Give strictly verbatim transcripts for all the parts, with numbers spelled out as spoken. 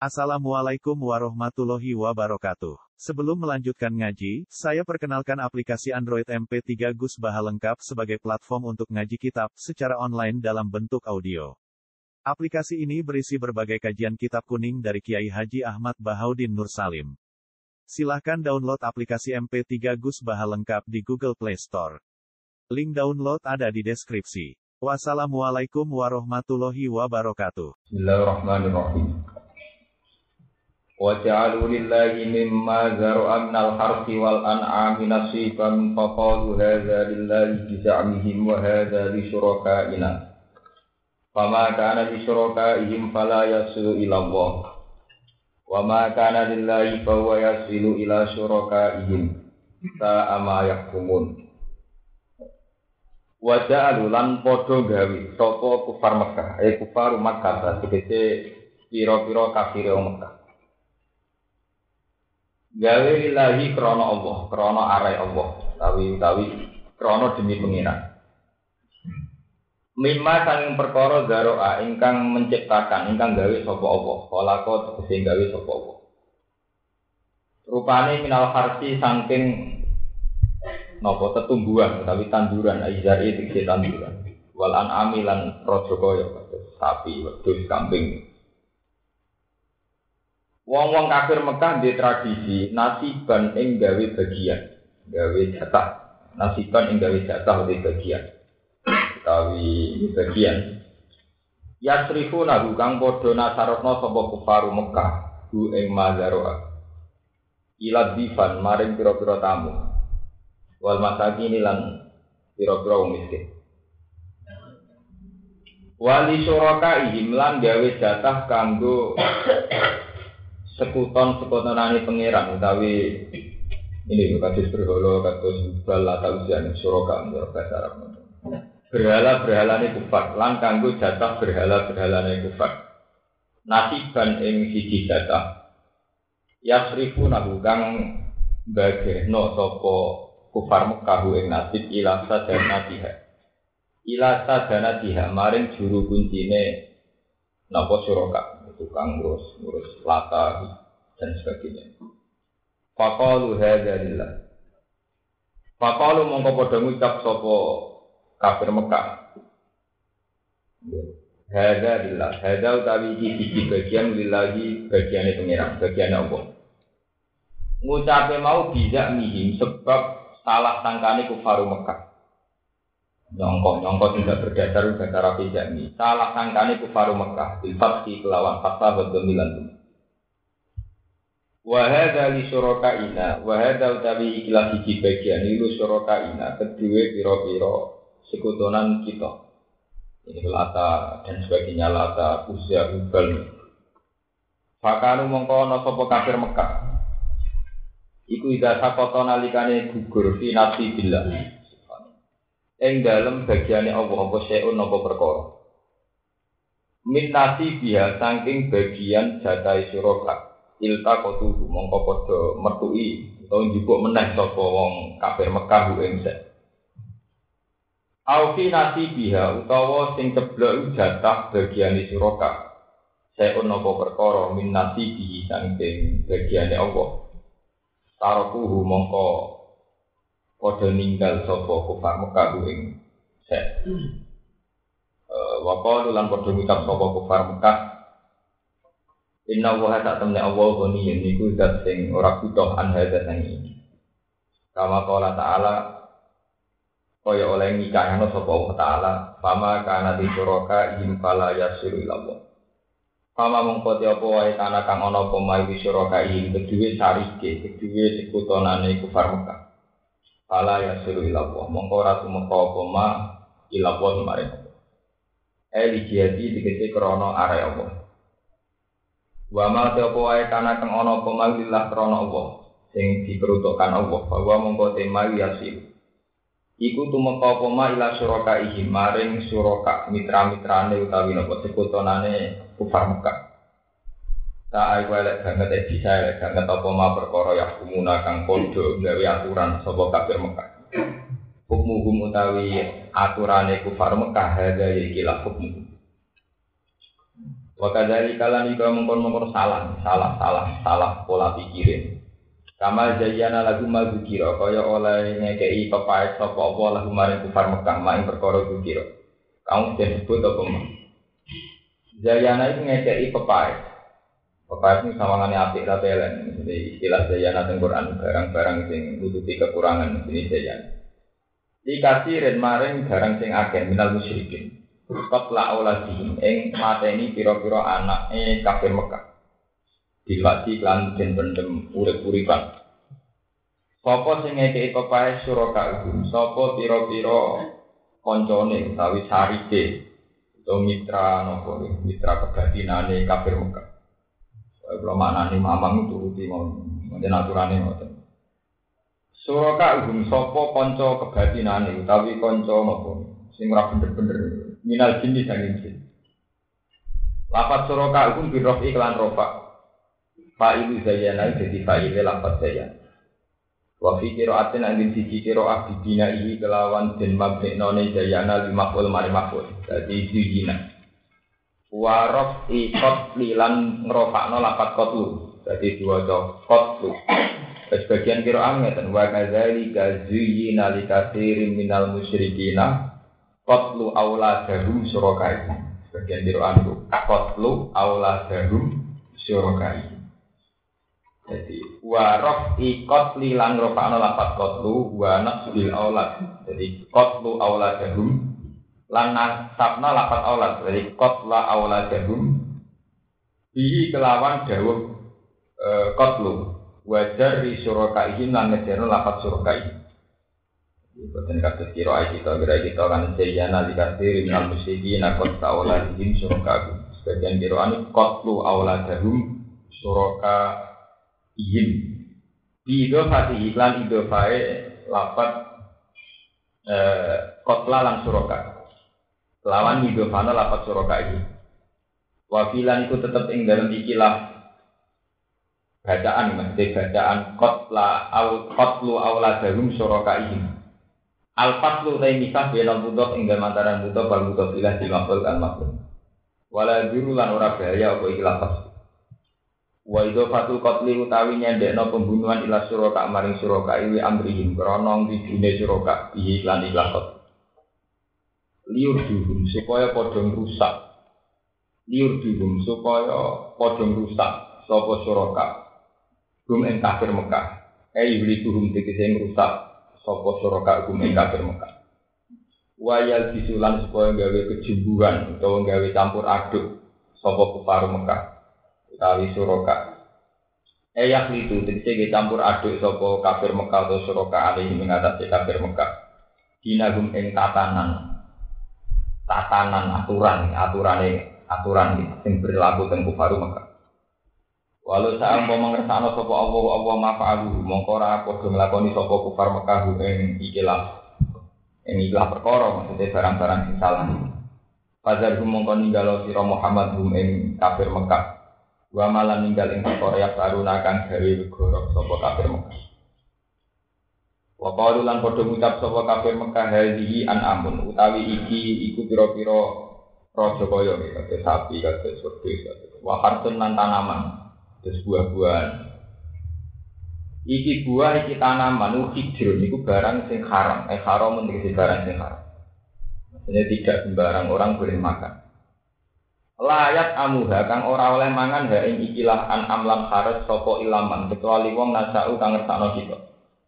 Assalamualaikum warahmatullahi wabarakatuh. Sebelum melanjutkan ngaji, saya perkenalkan aplikasi Android M P tiga Gus Baha lengkap sebagai platform untuk ngaji kitab secara online dalam bentuk audio. Aplikasi ini berisi berbagai kajian kitab kuning dari Kiai Haji Ahmad Bahaudin Nur Salim. Silahkan download aplikasi M P tiga Gus Baha lengkap di Google Play Store. Link download ada di deskripsi. Wassalamualaikum warahmatullahi wabarakatuh. Bismillahirrahmanirrahim. Wa ja'alu lillahi mimma zar'a minal harthi wal an'ami nasiban faqalu hadza lillahi bi za'mihim wa hadza li syuraka'ina. Fama kana li syuraka'ihim fala yasilu ila Allah. Wa ma kana lillahi fa huwa yasilu ila syuraka'ihim. Sa'a ma yahkumun. Wa ja'alu lan padha gawe sapa kufar Mekah, eh kufar Makkah tegese pira-pira kafire Mekah. Gawe lillahi krana Allah, krana arai Allah, tawi-tawi krana demi pengiran. Mimma sanging perkara zaroa ingkang menciptakan, ingkang gawe sapa Allah, khalaqo tegese gawe sapa Allah. Rupane minal harsi saking napa tetumbuhan utawi tanduran aizari tegese tanduran. Wal an'ami lan raja kaya sapi, wedhus, kambing. Wong-wong kafir Mekah di tradisi nasiban ing gawe bagian, gawe jatah, nasiban ing gawe jatah di bagian, utawi bagian. Yasrifu nahu kang padha nasarotna sapa kufaru Mekah, hu ing mazaroa. Ila difan maring pira-pira tamu. Wal masakin lan pira-pira wong miskin. Wali syuraka ihim lan gawe jatah kanggo sekuton-sekutonane pangeran utawi ini kados berhala kados bal atau ujian suraka menurut bahasa Arab. Berhala-berhalane kufar lan kanggo jatah berhala-berhalane kufar. Nasiban ing siji jatah. Yasrifu nahu kang bageno sapa kufar Mekah ing nasib ila sadanatiha. Ila sadanatiha maring juru kuncine napa suraka. Tukang ngurus, ngurus lata dan sebagainya. Faqalu hadza lillah. Faqalu mongko padha ngucap sapa kafir Mekah. Hadza lillah, hadza utawi iki bagian lillahi bagiane pengiran, bagiane Allah. Ngucape mau bisa mihim sebab salah sangkane kufaru Mekah. Nyongkok-nyongkok tidak berdasar dasar rapi jami. Salah sangkane kufaru Mekah bilfatki kelawan fatah berdomilan. Wahada li syurakaina, wahada utawi ikilah siji bagian ilu syurakaina kedua piro-piro sekutonan kita. Ini lata dan sebagainya lata uzza ubal. Fakanu mongko sapa kafir Mekah. Iku ida sakota nalikane gugur fi nafsi billah. Ing dalem bagiane Allah apa seun apa perkara. Min nasi biha saking bagian jatahe suraka. Ilta kotu mongko padha metuki utawa njupuk meneh sapa wong kafir Mekah ing sek. Au fi nasi biha utawa sing ceblok jatah bagiane suraka. Seun apa perkara min nasi bihi saking bagiane Allah. Taruhu mongko padha ninggal sapa kufar Mekah ing sek. Eh wa qalu lan padha ngucap sapa kufar Mekah. Inna wa ta tamna Allah goni niku zat sing ora butuh an hadza ini. Kama qala ta'ala kaya oleh nikahana sapa Allah taala, fama kana di suraka ihim fala yasiru ila Allah. Fama mongko te apa wae kana kang ana apa mawi suraka ihim kedue sarike, kedue sekutonane kufar Mekah. Fala yasiru ila Allah, mongko ora tumeka apa ma ila Allah maring Allah. Eli jihadi dikece krana are Allah. Wa ma ta apa wae kana kang ana apa ma lillah krana Allah, sing diperuntukkan Allah, bahwa mongko te ma yasiru. Iku tumeka apa ma ila syurakaihim maring syuraka mitra-mitrane utawi napa sekutonane kufar Mekah. Tak ae lek banget e bisa lek banget apa ma perkara ya kumuna kang padha gawe aturan sapa kafir Mekah. Hukum utawi aturane kufar Mekah hadza iki la hukum. Wa kadzalika lan iku mengkon-mengkon salah, salah, salah, salah pola pikirin. Kama jayyana lagu mazkira kaya oleh ngekeki pepaes sapa apa lagu maring kufar Mekah maing perkara zikira. Kamu disebut apa mah? Jayyana iku ngekeki pepaes. Pepaes ini sawangane apik ra pelen. Jadi istilah jayyana teng Quran barang-barang sing nutupi kekurangan ini jayyana. Dikasirin maring barang sing akeh minal musyrikin. Qatla auladihim ing mateni pira-pira anake kafir Mekah. Dilati lan den pendem urip-uripan. Sapa sing ngekeki pepae suraka iku? Sapa pira-pira kancane utawi sarike utawa mitra napa mitra kebatinane kafir Mekah. Kaya maknane mamang turuti mon aturane ngoten. Suraka iku sapa kanca kebatinane utawi kanca napa sing ora bener-bener minal jinni sanging jin. Lafaz suraka iku birof iklan rofa. Fa'ilu zayyana jadi fa'ile lafaz zayyana. Wa fi qira'atin angin siji qira'ah bibina ihi kelawan den mabnone zayyana limaful mari maful. Dadi zayyana. Wa rafi qatli lan ngrofakno lafaz qatlu. Dadi diwaca qatlu. Sebagian qira'ah ngeten wa kadzalika zayyana likatsirin minal musyrikina qatlu auladahum syurakai. Sebagian qira'ah itu qatlu auladahum syurakai. Jadi warof ikot lilang rofano lapat kotlu wanak bil aulad. Jadi kotlu auladahum lan nasabna lapat aulad. Jadi kotla auladahum bihi kelawan dawuh e, kotlu wajar di surakaihim lan ngejero lapat surakaihim. Bukan kata kira kita kira kita kan sejana dikasih minal musyrikin akot auladihim surakaihim. Sebagian kiraan kotlu auladahum suraka ihim idofati iklan idofae lapat eh, kotla lan suroka lawan idofana lapat suroka ini wafilan itu tetap ing dalam ikilah bacaan maksudnya bacaan kotla au kotlu auladahum suroka ihim al-fatlu tay misah benal budof ing dalam antara budof bal budof ilah dimaful kan makhluk wala biru lan ora bahaya apa ikilah pas. Wa idhafatul qatli utawi nyendekno pembunuhan ila suraka maring suraka iwi amrihim krana ngidine suraka iki lan ikhlas. Liur dihum supaya padha rusak. Liur dihum supaya padha rusak sapa suraka. Gum ing kafir Mekah. Eh ibli tuhum tegese rusak sapa suraka gum ing kafir Mekah. Wa yal bisulan supaya gawe kejumbuhan utawa gawe campur aduk sapa kufar Mekah. Utawi suraka eyak itu tegese campur aduk sapa kafir Mekah atau suraka alih mengatasi kafir Mekah dinagum ing tatanan tatanan aturan aturane aturan sing berlaku teng kufar Mekah walau saat mau mengersakno sapa Allah Allah mafa'alu mongko ora padha nglakoni sapa kufar Mekah ing ikilah ing ikilah perkara maksudnya barang-barang sing salah Fazar hum mongko ninggalo sira Muhammad hum ing kafir Mekah wa malan ninggal ing perkara ya saruna kang gawe gorok sapa kafir Mekah. Wa qalu lan padha ngucap sapa kafir Mekah hadhihi an'amun utawi iki iku pira-pira raja kaya kaya sapi kaya surga wa harsun lan tanaman terus buah-buahan. Iki buah iki tanaman hijrun iku barang sing haram eh haram menjadi barang sing haram. Maksudnya tidak sembarang orang boleh makan. Layat amuha kang ora oleh mangan ha ing ikilah an amlam haras sapa ilaman kecuali wong nasau kang ngersakno kita.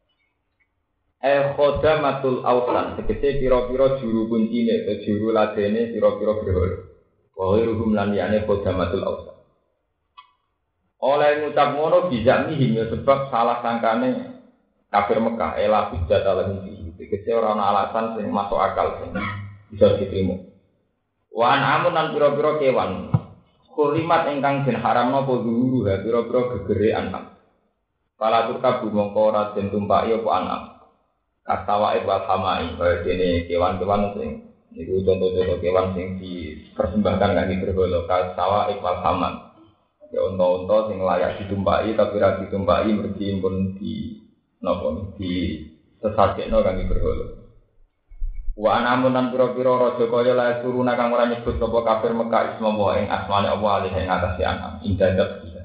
Eh khodamatul ausan tegese pira-pira juru kuncine atau juru ladene pira-pira berhala. Wa ghairuhum lan liyane khodamatul ausan. Oleh ngucap ngono bisa mihim sebab salah sangkane kafir Mekah ela hujjat alaihi fi. Tegese ora ana alasan sing masuk akal sing bisa diterima. Wan amun lan pira-pira kewan kurimat ingkang den haramno apa guru ha pira-pira gegere anam pala turkabu mongko ora den tumpaki apa anam kastawa wal hamai kaya dene kewan-kewan sing niku contoh-contoh kewan sing dipersembahkan kangge berhala kastawa wal hamam ya unta-unta sing layak ditumpaki tapi ra ditumpaki mergi pun di napa di sesakekno kangge berhala. Wa anamun lan pira-pira raja kaya la turuna kang ora nyebut sapa kafir Mekah isma wa ing asmane Allah alih ing atase anam indadat bisa.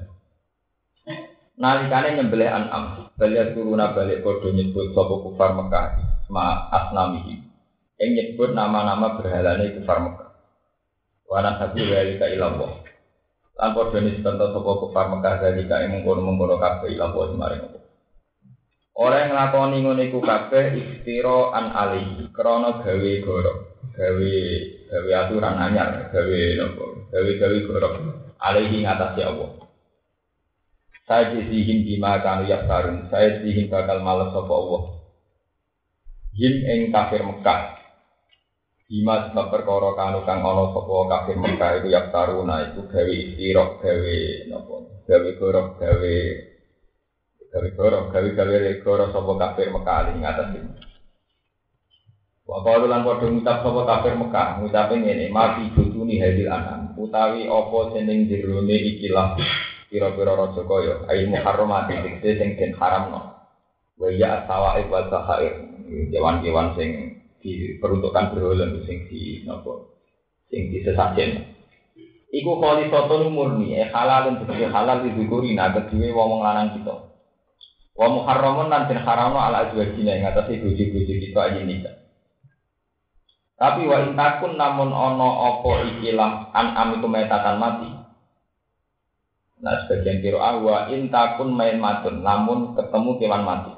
Nalikane nyembelih anam, bali turuna balik padha nyebut sapa kufar Mekah isma asnamihi. Ing nyebut nama-nama berhalane kufar Mekah. Wa nasabu walika ilallah. Lan padha nisbat sapa kufar Mekah dalika ing mungkon-mungkon kabeh ilallah maring Allah. Ora nglakoni ngene iku kabeh istira an alihi krana gawe goro, gawe gawe aturan anyar, gawe napa? Gawe-gawe goro alihi ngatasi Allah. Saya dihin bima kanu yaftarun, saya dihin bakal males sapa Allah. Him ing kafir Mekah. Bima sebab perkara kanu kang ana sapa kafir Mekah iku yaftaruna iku gawe istira, gawe napa? Gawe goro, gawe gawe goro, gawe-gawe goro sapa kafir Mekah ing atas iki. Wa qalu lan padha ngucap sapa kafir Mekah, ngucape ngene, "Mati butuni hadil anam." Utawi apa seneng jerone ikilah pira-pira raja kaya, ai muharramati dikte sing den haramno. Wa ya sawaib wa sahair, kewan-kewan sing diperuntukkan berhala sing di napa? Sing disesajen. Iku khalisatun murni, eh halal tegese halal dizukurina kedue wong lanang kita. Wa muharramun lan den haramno ala azwajina ing atase bojo-bojo kita ayin nikah. Tapi wa intakun namun ana apa ikilah an'am iku metatan mati. Nah sebagian qiraah wa intakun main matun namun ketemu kewan mati.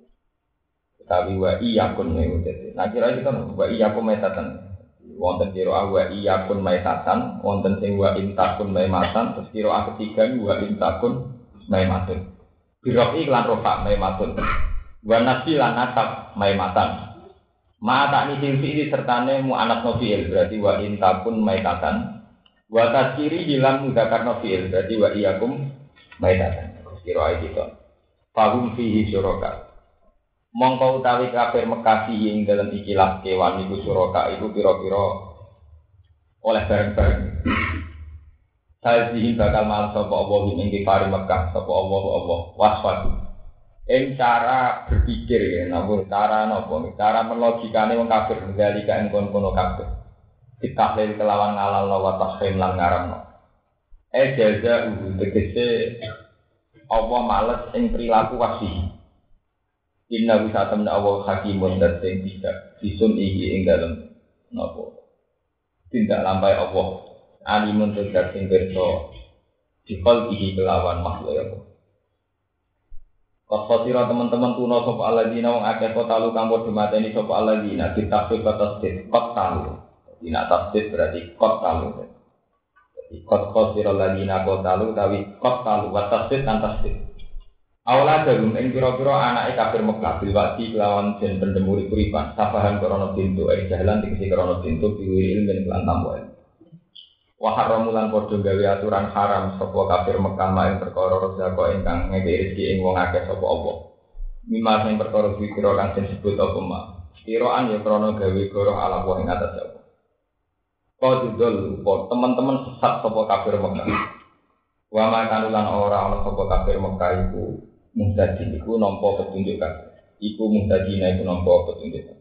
Tapi wa iyakun meute. Nah kira kita wa iyakum metatan. Wonten qiraah wa iyakun metatan, wonten sing wa intakun main matan, terus qiraah ketiga wa intakun main matun. Birofi lan rofa maimatun wa nasi lan nasab maimatan ma tak ni silfi ini sertane mu anak nofiil berarti wa intakun maitatan wa tasiri hilang mudakar nofiil berarti wa iyakum maitatan kira gitu fahum fihi syuraka mongko utawi kafir Mekah ing dalam ikilah kewan iku syuraka iku pira-pira oleh bareng-bareng. Saya dihin bakal malas sapa Allah ing kafir Mekah sapa Allah Allah waswatu. Ing cara berpikir ya, namun cara napa? Cara melogikane wong kafir ngalika ing kono-kono kafir. Ditahlil kelawan ngalal wa tahrim lan ngaramno. Eh jaza tegese Allah malas ing perilaku wasi. Inna bisa temna Allah hakimun dan sing tidak disun iki ing dalem napa? Tindak lampai Allah. Alimun tegak sing pirsa dikol iki kelawan makhluk ya. Qasira teman-teman tuna sapa alladzina wong akeh kota lu kang padha mateni sapa alladzina ditafsir kata tasdid qatalu. Dina tasdid berarti qatalu. Jadi qad qasira alladzina qatalu tawi qatalu wa tasdid kan tasdid. Awala dalem ing pira-pira anake kafir Mekah bilwati kelawan den pendemuri kuripan sabahan krana pintu ing jalan dikisi krana pintu piwiri ilmu lan tambahan. Wa haramulan padha gawe aturan haram sapa kafir Mekah main perkara rezeki ingkang ngeke rezeki ing wong akeh sapa apa. Mimma sing perkara dikira kang disebut apa mak. Kiraan ya krana gawe goro ala wong ing atas apa. Qadul teman-teman sesat sapa kafir Mekah. Wa makanulan ora ana sapa kafir Mekah iku muhtadi iku nampa petunjuk kabeh. Iku muhtadina iku nampa petunjuk.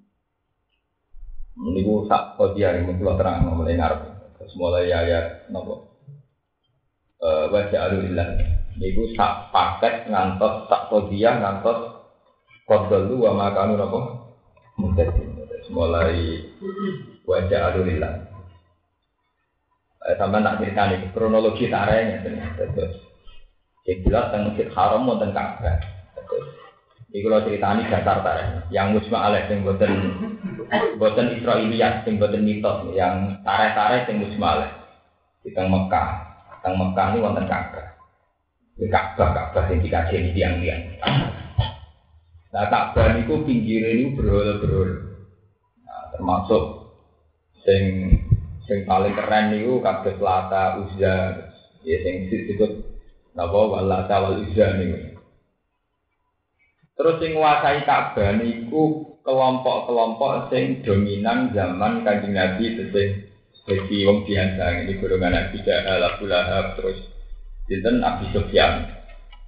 Niku sak kodian mung terang mulai ngarep. Mulai ayat nopo eh wajah alillah niku sak paket ngantos sak kodiah ngantos kodol wa makanu nopo mudati mulai wajah alillah eh sampeyan tak critani kronologi tarene terus sing jelas teng Masjid Haram wonten Ka'bah terus iki kula critani dasar tarene yang musma alaih sing boten boten Israiliyat sing boten mitos yang tareh-tareh sing musmalah di teng Mekah. Teng Mekah ini wonten Ka'bah. Di Ka'bah Ka'bah sing dikajeni tiang-tiang. Nah Ka'bah niku pinggire niku berhala-berhala. Nah termasuk sing sing paling keren niku kabeh Lata Uzza ya sing disebut napa Lata wal Uzza niku. Terus sing nguasai Ka'bah niku kelompok-kelompok sing dominan zaman Kanjeng Nabi sing dadi wong biasa iki golongan Abi Jahal, Abu Lahab terus sinten Abi Sufyan.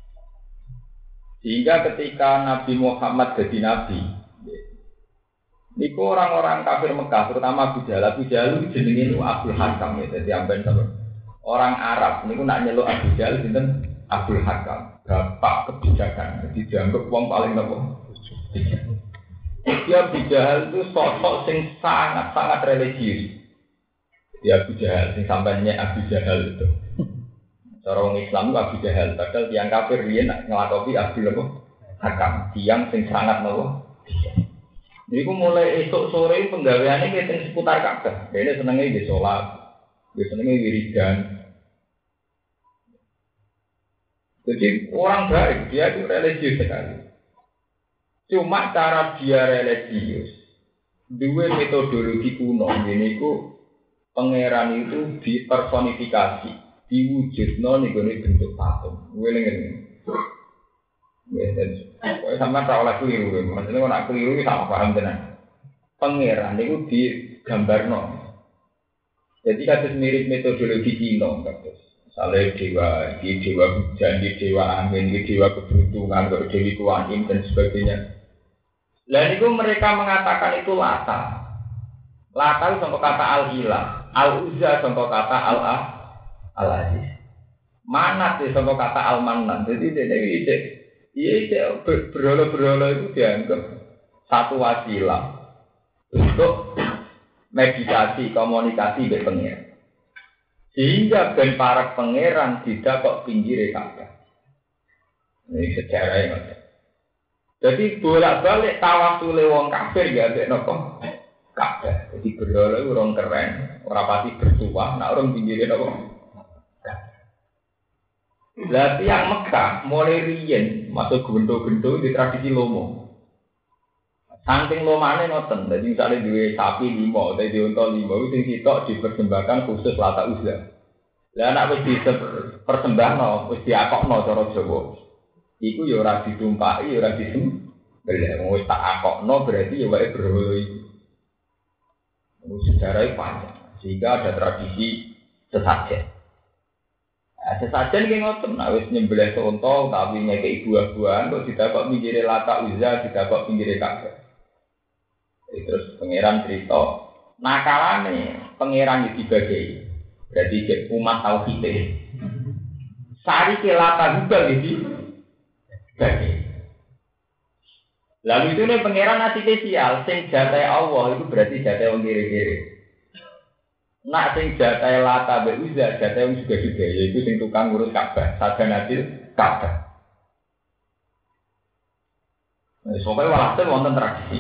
Sehingga ketika Nabi Muhammad jadi nabi Niku orang-orang kafir Mekah, terutama Abu Jahal. Abu Jahal itu jenenge itu Abdul Hakam ya, jadi amben sama orang Arab. Niku nak nyeluk Abu Jahal sinten Abdul Hakam, bapak kebijakan. Jadi dianggap wong paling nopo. Dia Abu Jahal itu sosok sing sangat-sangat religius. Ya Abu Jahal, sing sampainya Abu Jahal itu. Cara orang Islam itu Abu Jahal, padahal tiang kafir dia nak ngelakopi Abdul apa? Hakam, tiang sing sangat nopo. Jadi aku mulai esok sore penggaweannya kita seputar Ka'bah. Dia senengnya di sholat, dia senengnya wiridan. Jadi orang baik, dia itu religius sekali. Cuma cara dia religius, dua metodologi kuno ini ku pangeran itu dipersonifikasi, diwujudno nih gue bentuk patung. Gue lengen, gue sama tak oleh keliru, maksudnya kalau nak keliru sama paham tenan. Pangeran itu digambarno. Jadi kasus mirip metodologi Cina, kasus. Misalnya dewa, di dewa hujan, di dewa angin, di dewa keberuntungan, di dewi kuanim dan sebagainya. Dan itu mereka mengatakan itu lata. Lata itu contoh kata al-ilah, al-uzza contoh kata al-ah, al-aziz. Manat itu contoh kata al-manan. Jadi ini iya berhala-berhala itu dianggap satu wasilah untuk meditasi, komunikasi dengan pengiran. Sehingga ben para pangeran tidak kok pinggir Ka'bah. Ini sejarahnya. Jadi bolak-balik tawasul wong kafir ya ambek napa? Ka'bah. Jadi berhala orang keren, ora pati bertuah, nek orang pinggire napa? Lah tiyang Mekah mulai riyen masuk gendo-gendo di tradisi lomo. Saking lomane ngoten, dadi misale duwe sapi lima utawa duwe unta lima sing sitok dipersembahkan khusus Lata Uzza. Lah nek wis dipersembahno, wis diakokno cara Jawa. Iku ya ora ditumpaki, ya ora disembelih. Wis tak akokno berarti ya wae berhala iki. Sejarahnya panjang, sehingga ada tradisi sesajen. Nah, sesajen ki ngoten, nek wis nyembelih unta tapi ngekeki buah-buahan kok didakok pinggire Lata Uzza, didakok pinggire Ka'bah. Terus pangeran cerita, nakalane pangeran iki dibagi. Berarti cek umat tauhid. Sari ke Lata Uzza iki bagi. Lalu itu nih pangeran nasi spesial, sing jatai Allah itu berarti jatai wong kiri-kiri. Nak sing jatai Lata be Uzza, jatai wong juga juga, yaitu sing tukang ngurus Ka'bah, saja nasil Ka'bah. Nah, soalnya walhasil wonten tradisi.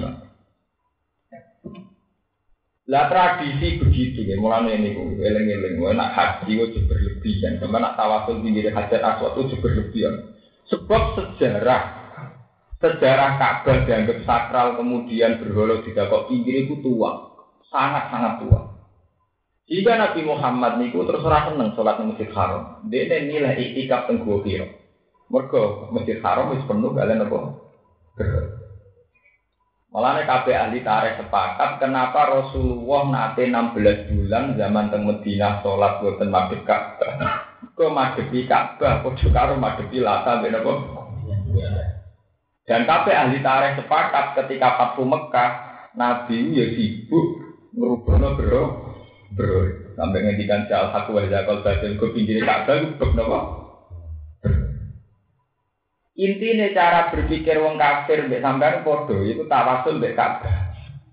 Lah tradisi begitu ya, mulane niku eling-eling nak haji kok berlebihan, sama nak tawasul pinggir Hajar Aswad itu berlebihan. Sebab sejarah sejarah Ka'bah dianggap sakral kemudian berhala didakok pinggir itu tua, sangat-sangat tua. Jika Nabi Muhammad niku terus ora seneng salat nang Masjid Haram, dene nilai iktikaf teng Gua Hira. Mergo Masjid Haram wis penuh kalian apa? Malahnya kabeh ahli tarikh sepakat kenapa Rasulullah nate enam belas bulan zaman teng Madinah salat boten madhep Ka'bah. Kok madhepi Ka'bah padha karo madhepi Lata ben apa? Dan kabeh ahli tarikh sepakat ketika Fathu Mekah Nabi ya sibuk ngrubahno bro bro sampai ngendikan jal hak wa zakal badal go pinggire Ka'bah bab napa? Intinya cara berpikir wong kafir mbek sampean padha iku tawasul mbek Ka'bah.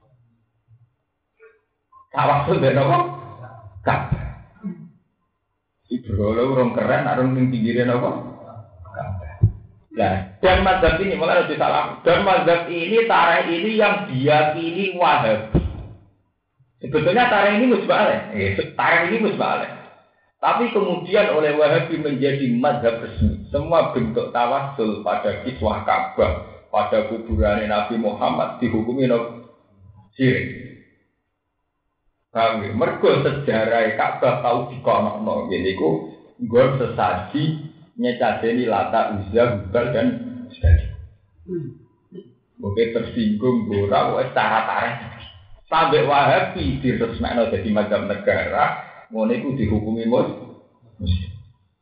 Tawasul mbek napa? Ka'bah. Iku lho urung keren arep ning pinggire napa? Ka'bah. Lah, dan mazhab ini malah ada salah. Dan mazhab ini tarikh ini yang diyakini Wahabi. Sebetulnya tarikh ini musbalik. Eh, tarikh ini musbalik. Tapi kemudian oleh Wahabi menjadi mazhab resmi. Semua bentuk tawasul pada kiswah Ka'bah, pada kuburan Nabi Muhammad dihukumi no syirik. Kami mergo sejarah Ka'bah tahu dikonokno. Jadi ku nggon sesaji nyecadeni Lata Uzza Hubal dan sebagainya. Oke tersinggung ora wis cara tarikh. Sampai Wahabi diresmekno dadi mazhab negara. Ngono iku dihukumi muslim.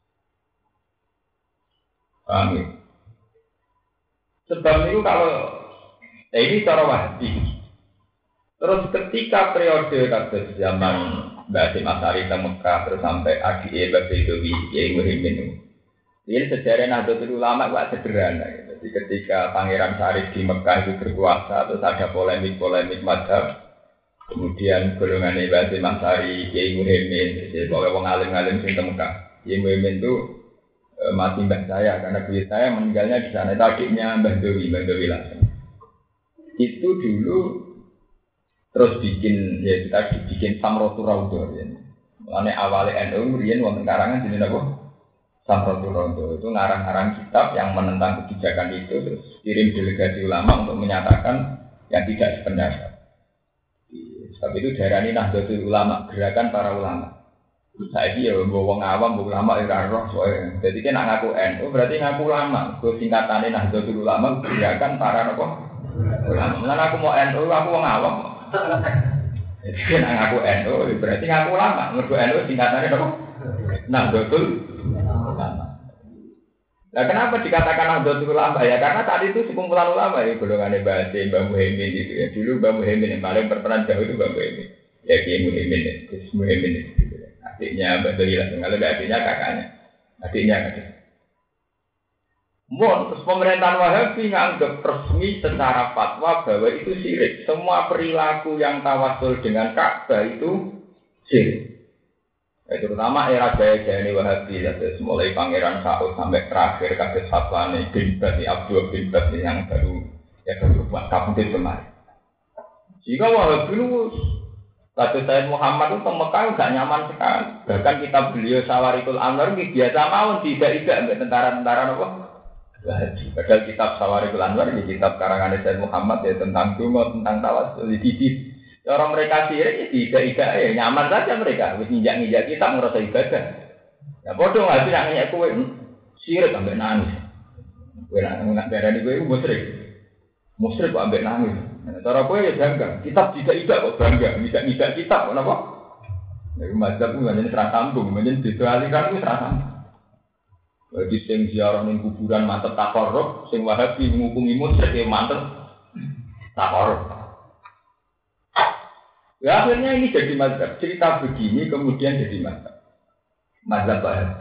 Paham ya? Sebab itu kalau eh ini cara Wahabi. Terus ketika periode kados zaman Mbak Hasyim Asy'ari ke Mekah terus sampai A D E Mbak Baidowi Kiai Muhyiddin. Ini sejarah Nahdlatul Ulama gak sederhana. Jadi ketika Pangeran Syarif di Mekah itu berkuasa terus ada polemik-polemik mazhab. Kemudian golongan Mbak Hasyim Asy'ari Kiai Muhyiddin, jadi pokoknya wong alim-alim sing Mekah. Kiai Muhyiddin itu e, mati mbah saya karena beliau saya meninggalnya di sana. Itu adiknya Mbah Dowi, Mbah Dowi langsung. Itu dulu terus bikin ya kita bikin Samrotul Raudhah ya. Mulane awale N U riyen wonten karangan jenenge apa? Samrotul Raudhah. Itu ngarang-ngarang kitab yang menentang kebijakan itu terus kirim delegasi ulama untuk menyatakan yang tidak sependapat. Sebab itu diarani Nahdlatul Ulama, gerakan para ulama. Saiki ya wong awam, wong ulama ora roh soe. Dadi nek ngaku N U berarti ngaku ulama. Ku singkatane Nahdlatul Ulama gerakan para napa? Ulama. Lan aku mau N U, aku wong awam. Jadi nek ngaku N U berarti ngaku ulama. Mergo N U singkatane napa? Nahdlatul Ulama. Nah, kenapa dikatakan Nahdlatul Ulama ya? Karena tadi itu sekumpulan ulama ya, golongannya Mbah Hasyim, Mbah Muhyiddin gitu ya. Dulu Mbah Muhyiddin yang paling berperan jauh itu Mbah Muhyiddin. Ya Kiai Muhyiddin ya, Gus Muhyiddin gitu ya. Adiknya Mbah Dowi langsung, kalau adiknya kakaknya. Adiknya kakaknya. Mohon, terus pemerintahan Wahabi nganggap resmi secara fatwa bahwa itu syirik. Semua perilaku yang tawasul dengan Ka'bah itu syirik. Ya, terutama era jaya-jaya Wahabi, dari mulai Pangeran Saud sampai terakhir kasus fatwa ini bin Baz, Abdul bin Baz yang baru ya baru buat kabudut kemarin. Jika Wahabi lu kasus Sayyid Muhammad itu Mekah nggak nyaman sekali. Bahkan kitab beliau Sawarikul Anwar ini biasa mau tidak-tidak ambil tentara-tentara apa? Wahabi. Padahal kitab Sawarikul Anwar ini kitab karangan Sayyid Muhammad ya tentang dungo, tentang tawasul, didit. Orang mereka sirik, tidak-tidak ya nyaman saja mereka. Wis nginjak-nginjak kita merasa ibadah. Ya bodoh nggak sih nanya kue sirik sampai nangis. Kue nak darah di kue musrik, musrik kok sampai nangis. Cara kue ya bangga. Kitab tidak-tidak kok bangga. Nginjak-nginjak kitab kenapa? Ya mazhab itu menjadi serang sambung, menjadi ditualikan itu serang sambung. Bagi sing ziarah ning kuburan mantep takorruk, sing Wahabi ngukumi musrik ya mantep takorruk. Ya akhirnya ini jadi mazhab. Cerita begini kemudian jadi mazhab. Mazhab Wahabi.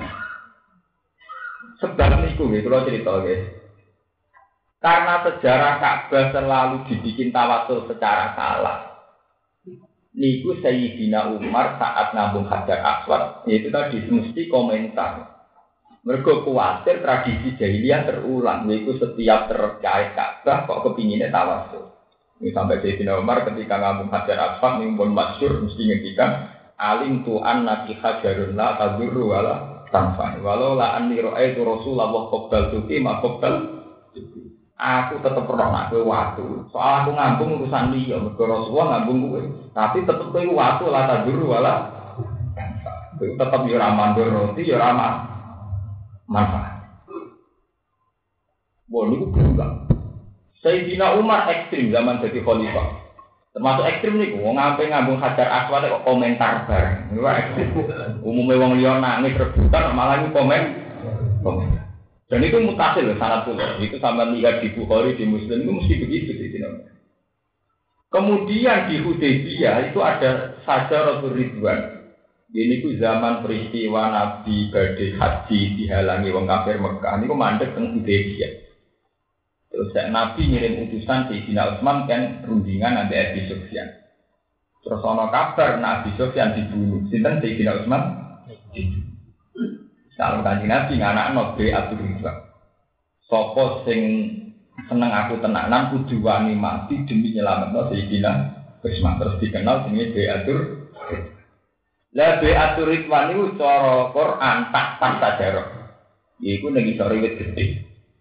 Sebab niku nggih kula cerita guys. Karena sejarah Ka'bah selalu dibikin tawasul secara salah. Niku Sayyidina Umar saat ngambung Hajar Aswad, itu tadi mesti komentar. Mergo kuwatir tradisi jahiliyah terulang, yaitu setiap terkait Ka'bah kok kepinginnya tawasul. Ini sampai Sayyidina Umar ketika ngambung Hajar Aswad ini pun masyhur mesti ngendikan alim tu'an naki hajarun la tadurru wala tanfa walau la anni ra'aitu Rasulullah qabbal tuki ma qabbal aku tetep pernah nak kowe watu soal aku ngambung urusan liya mergo Rasulullah ngambung kowe tapi tetep kowe watu la tadurru wala tanfa tetep yo ora mandur roti yo ora manfaat. Bon niku berulang. Sayyidina Umar ekstrim zaman jadi khalifah. Termasuk ekstrim niku wong ngampe ngambung Hajar Aswad kok komentar bareng. Niku ekstrim. Umume wong liya nangis rebutan malah niku komen. Komentar. Dan itu mutasil sangat pula. Itu sampean lihat di Bukhari di Muslim itu mesti begitu Sayyidina Umar. Kemudian di Hudaybiyah itu ada Sajaratul Ridwan. Ini ku zaman peristiwa Nabi badhe haji dihalangi wong kafir Mekah niku mandek teng Hudaybiyah. Terus Nabi ngirim utusan Sayyidina Utsman kan rundingan nanti Abi Sufyan. Terus ana kabar Nabi Sufyan dibunuh. Sinten Sayyidina Utsman? Kalau Kanjeng Nabi nganakno Bai'atul Ridwan. Sapa sing seneng aku tenanan kudu wani mati demi nyelametno Sayyidina Utsman. Terus dikenal jenenge Bai'atul Ridwan. Lah Bai'atul Ridwan niku cara Quran tak tak sajarah. Iku nek iso riwit gedhe.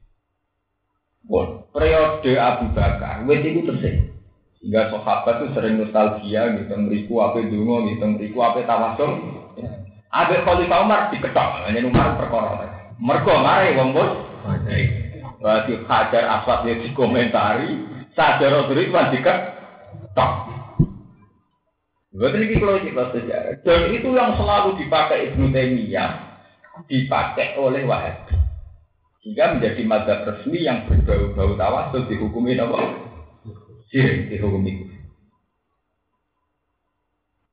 Bon, periode Abu Bakar, wes itu tersih. Sehingga sahabat itu sering nostalgia, gitu, meriku apa dungo, gitu, meriku apa tawasul. Abe Khalifah Umar diketok, hanya Umar perkara. Mergo mari wong bos. Berarti Hajar Aswad dia dikomentari, Sajaratul Ridwan diketok. Betul ini kalau kita sejarah. Dan itu yang selalu dipakai Ibnu Taimiyah, dipakai oleh Wahabi. Sehingga menjadi mazhab resmi yang berbau-bau tawasul dihukumi apa? Syirik dihukumi.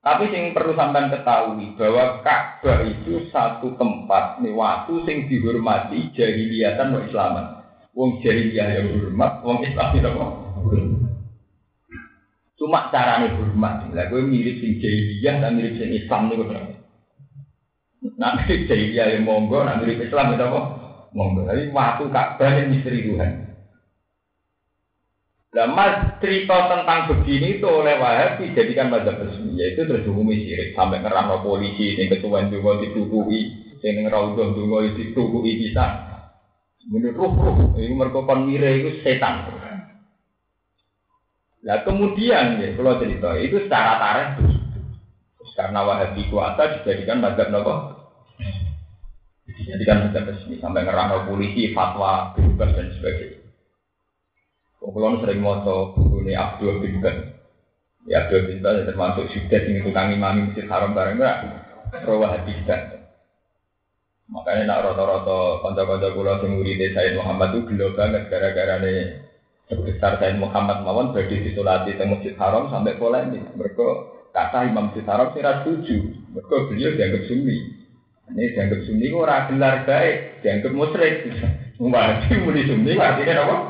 Tapi yang perlu sampean ketahui bahwa Ka'bah itu satu tempat nih waktu sing dihormati jahiliyatan wa Islaman. Wong jahiliyah yang hormat, wong Islam itu apa? Cuma carane hormat. Lah kowe mirip sing jahiliyah dan mirip sing Islam niku. Nah, jahiliyah yang monggo, nak mirip Islam itu apa? Monggo. Tapi waktu Ka'bah yang misteri Tuhan. Nah, mas cerita tentang begini itu oleh Wahabi dijadikan mazhab resmi, yaitu terhukumi syirik sampai ngerangno polisi, yang ketuaan juga dituduhi, yang ngerawuh juga dituduhi bisa. Menurut ruh, itu mereka mire itu setan. Nah kemudian ya, kalau cerita itu secara tarikh karena Wahabi kuasa dijadikan mazhab nopo, dijadikan mazhab resmi sampai ngerangno polisi, fatwa, bebas dan sebagainya. Kalau sering moto bukunya Abdul bin Ben, ya Abdul bin Ben termasuk sudah tinggi tukang imam Masjid Haram bareng enggak, rawah hadis dan makanya nak roto-roto konco-konco kulo sing murid Sayyid Muhammad itu gelo banget gara-gara nih sebesar Sayyid Muhammad mawon berdi disolati di Masjid Haram sampai polemik. Mereka kata Imam Masjid Haram tidak setuju, mereka beliau dianggap sunni. Ini dianggap sunni itu orang gelar baik, dianggap musyrik. Wajib mulai sunni artinya apa?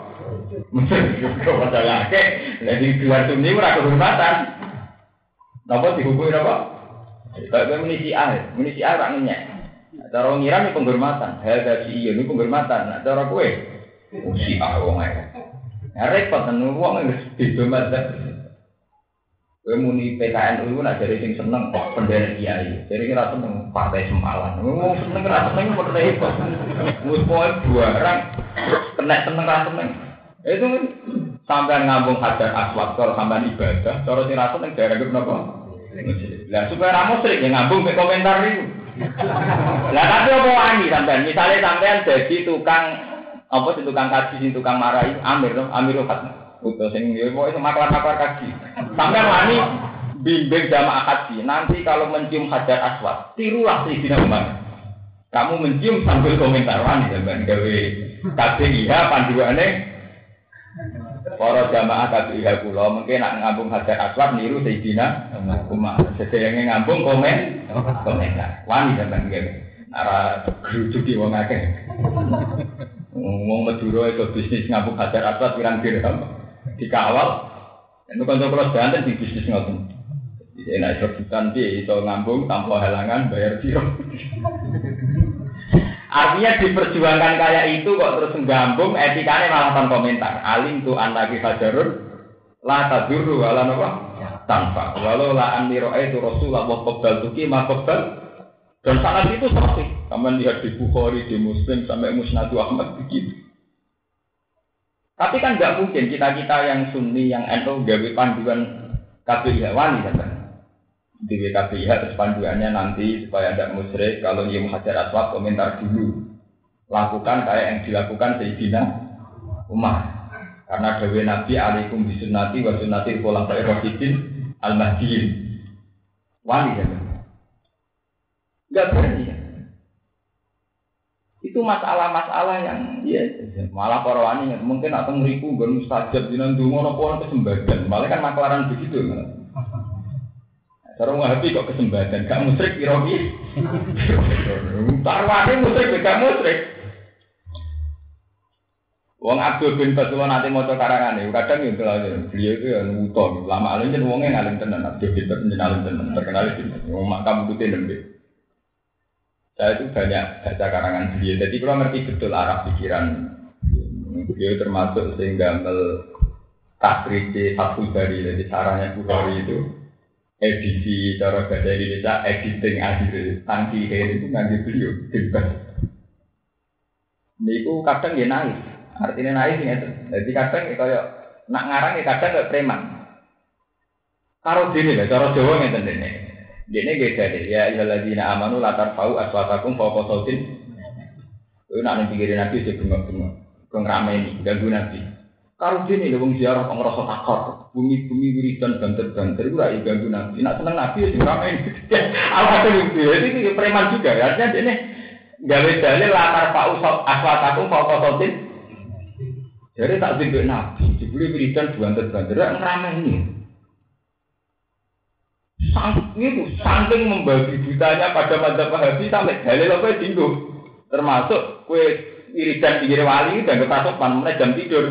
Kau masalah ke, jadi keluar sunni merasa kehormatan. Napa dihukumi apa? Kalau munisi A, munisi A tak nanya. Cara ngira ini penghormatan, ada si iya ini penghormatan. Cara kue, si A wong ae. Ya repot nang wong wis beda mazhab. Kue muni P K N U nak jadi sing seneng kok pendene kiai. Jadi kira seneng partai Semalan. Wong seneng ra seneng kok repot. Wis poe barang kena seneng ra seneng. Itu sampai ngambung hajar aswad kalau sampai ibadah, cara sing rasa ning daerah napa? Lah supaya ra musyrik ya ngambung mek komentar niku. Lah tapi apa wani sampean? Misale sampean dadi tukang apa sing tukang kaji sing tukang marai Amir to, Amir Khat. Utus sing yo pokoke maklar-maklar kaji. Sampean wani bimbing jamaah kaji. Nanti kalau mencium hajar aswad, tirulah Sayyidina Umar. Kamu mencium sambil komentar wani sampean gawe K B I H panduane para jamaah K B I H kula mungkin nak ngambung hajar aswad niru Sayyidina Umar. Sedayane ngambung komen komentar. Wani sampean nggih. Ara grujuki wong akeh. Wong Madura itu bisnis ngambung hajar aswad pirang dirham dikawal. Itu kanca kula Banten di bisnis ngoten. Jadi nek rebutan piye iso ngambung tanpa halangan bayar piro. Artinya diperjuangkan kayak itu kok terus menggambung etikanya malah tanpa komentar. Alim tu anaki hajarun la tadurru wala napa tanpa. Walau la anni ra'aitu Rasulullah wa qabbal tuki ma qabbal. Dan sanad itu sahih. Kamu lihat di Bukhari, di Muslim sampai Musnad Ahmad begitu. Tapi kan enggak mungkin kita-kita yang Sunni yang N U gawe panduan K B I H wani kan. Di K B I H terus panduannya nanti supaya tidak musyrik kalau nyium hajar aswad komentar dulu lakukan kayak yang dilakukan Sayyidina Umar karena dawe Nabi alaikum bisunnati wa sunnati khulafair rasyidin al-mahdiyyin wali kan enggak berani ya. Itu masalah-masalah yang ya malah para wani mungkin atau ngriku nggon mustajab dinan donga napa kesembatan malah kan maklaran begitu kan. Sarung Wahabi kok kesempatan, gak musyrik kira-kira. Tarwane musyrik gak musyrik. Wong Abdul bin Basullah nanti maca karangane, kadang yo beliau itu ya nuto, lama alim jen wonge ngalim tenan, Abdul bin Basullah ngalim tenan, terkenal itu. Wong makam putih nembe. Saya itu banyak baca karangan beliau, jadi kalau ngerti betul arah pikiran beliau termasuk sehingga mel takriji Fathul Bari, jadi caranya Bukhari itu. Edisi cara bahasa Indonesia, editing akhir tangki akhir itu nganti beliau bebas. Niku kadang ya naik, artinya naik ini. Jadi kadang ya kayak nak ngarang ya kadang kayak preman. Karo dini lah, cara Jawa ngeten dene. Dene beda deh. Ya ayyuhalladzina amanu la tarfa'u aswatakum fawqa sautin. Kuwi nak ning pikirin Nabi sing bengok-bengok, kok ngrameni ganggu Nabi. Karo dene lho wong ziarah kok ngrasa takut. Bumi-bumi wiridan banter-banter itu ora ganggu Nabi. Nak seneng Nabi ya sing ngrameni. Alhasil itu iki preman juga. Artinya dene gawe dalil la tarfa'u aswatakum fawqa sautin. Jadi tak dibek Nabi, dibeli wiridan banter-banter ngrameni. Sang itu saking membabi butanya pada madzhab Wahabi sampai dalil apa dinggo. Termasuk kue wiridan pinggir wali dan ketasupan mulai jam tidur.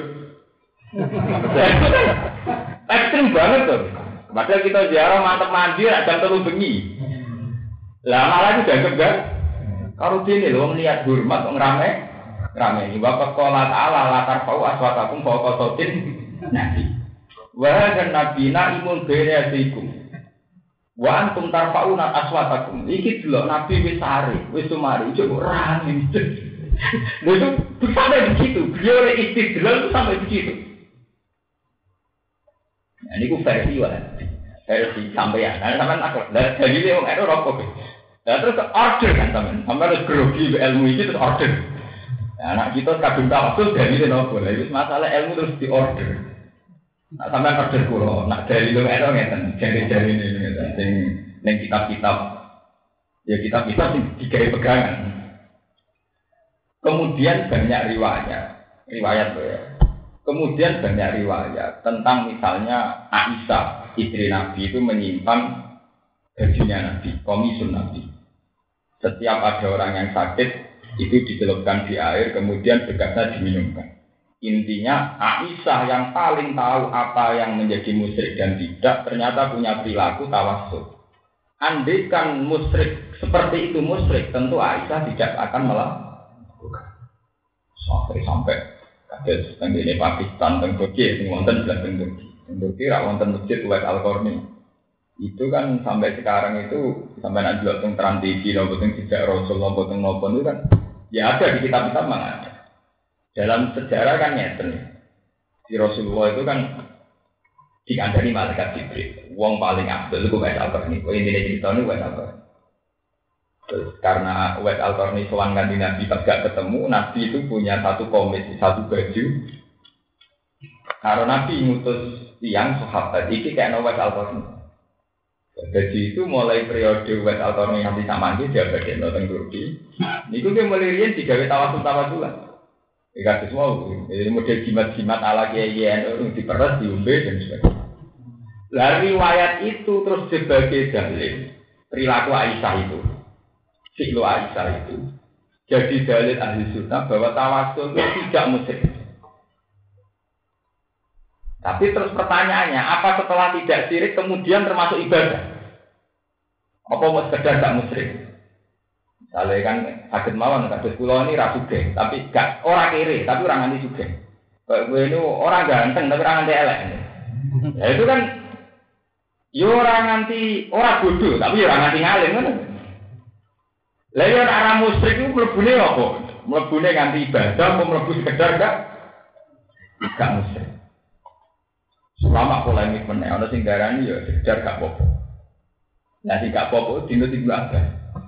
Ekstrim banget tuh. Padahal kita ziarah mantep mandi jam telu bengi. Lah malah itu dianggap gak? Kalau dene lho niat hormat kok ngrame. Ngrame iki bapak qala ta'ala la tarfa'u aswatakum fawqa sautin nabi. Wa dan nabina imun bereasikum. Wa antum tarfa'una aswatakum. Iki delok nabi wis sare, wis sumari coba rame. Lha itu sampai begitu. Beliau istidlal sampai begitu. Nah, ini ku versi wae. Versi sampeyan. Nah, sampean aku lah dalile wong ero rokok. Lah terus order kan sampean. Sampean harus grogi ilmu iki terus order. Nah, anak kita kadung tawasul dalile nopo. Lah wis masalah ilmu terus diorder. Nah, sampean order kula, nak dalile ero ngeten, jari-jari ini ngeten sing ning kitab-kitab. Ya kitab-kitab sing digawe pegangan. Kemudian banyak riwayat, riwayat ya. Kemudian banyak riwayat tentang misalnya Aisyah, istri Nabi itu menyimpan bajunya Nabi, komisun Nabi. Setiap ada orang yang sakit, itu dicelupkan di air, kemudian bekasnya diminumkan. Intinya Aisyah yang paling tahu apa yang menjadi musyrik dan tidak, ternyata punya perilaku tawassul. Andai kan musyrik seperti itu musyrik, tentu Aisyah tidak akan melakukan. Sampai sampai kados teng dene Pakistan teng Turki sing wonten sebelah teng Turki. Teng Turki ra wonten masjid Uwais Al-Qarni. Itu kan sampai sekarang itu sampai nak delok teng Trans T V lho teng Jejak Rasul lho teng nopo itu kan ya ada di kitab-kitab mana. Dalam sejarah kan nyeten. Di Rasulullah itu kan dikandani malaikat Jibril. Wong paling afdal iku Uwais Al-Qarni. Kok intine critane Uwais Al-Qarni. Terus karena Uwais Al-Qarni sowan kanthi Nabi pas gak ketemu, Nabi itu punya satu komisi, satu baju. Karena Nabi ngutus tiang sahabat iki kayak Uwais Al-Qarni. Baju itu mulai periode Uwais Al-Qarni nanti samangke dia bagian teng Turki. Niku ki mulai riyen digawe tawasul-tawasulan. Iki semua ini model jimat-jimat ala kiai-kiai itu diperes diombe dan sebagainya. Lah riwayat itu terus sebagai dalil perilaku Aisyah itu. Siklo Aisyah itu jadi dalil ahli sunnah bahwa tawasul itu tidak musyrik. Tapi terus pertanyaannya, apa setelah tidak syirik kemudian termasuk ibadah? Apa mau sekedar tak musyrik? Misalnya kan sakit mawon, kados kula ini ra sugih, tapi gak ora kere, tapi ora nganti sugih. Kayak gue ini orang ganteng tapi ora nganti elek. Ya itu kan yo ora nganti ora bodoh, tapi ora nganti ngalim ngono. Lah yen arah musyrik ku mlebune apa? Mlebune nganti ibadah apa mlebu sekedar gak? Gak musyrik. Selama polemik meneh ana sing darani ya sekedar gak apa-apa. Lah sing gak apa-apa dino Ibnu Abbas.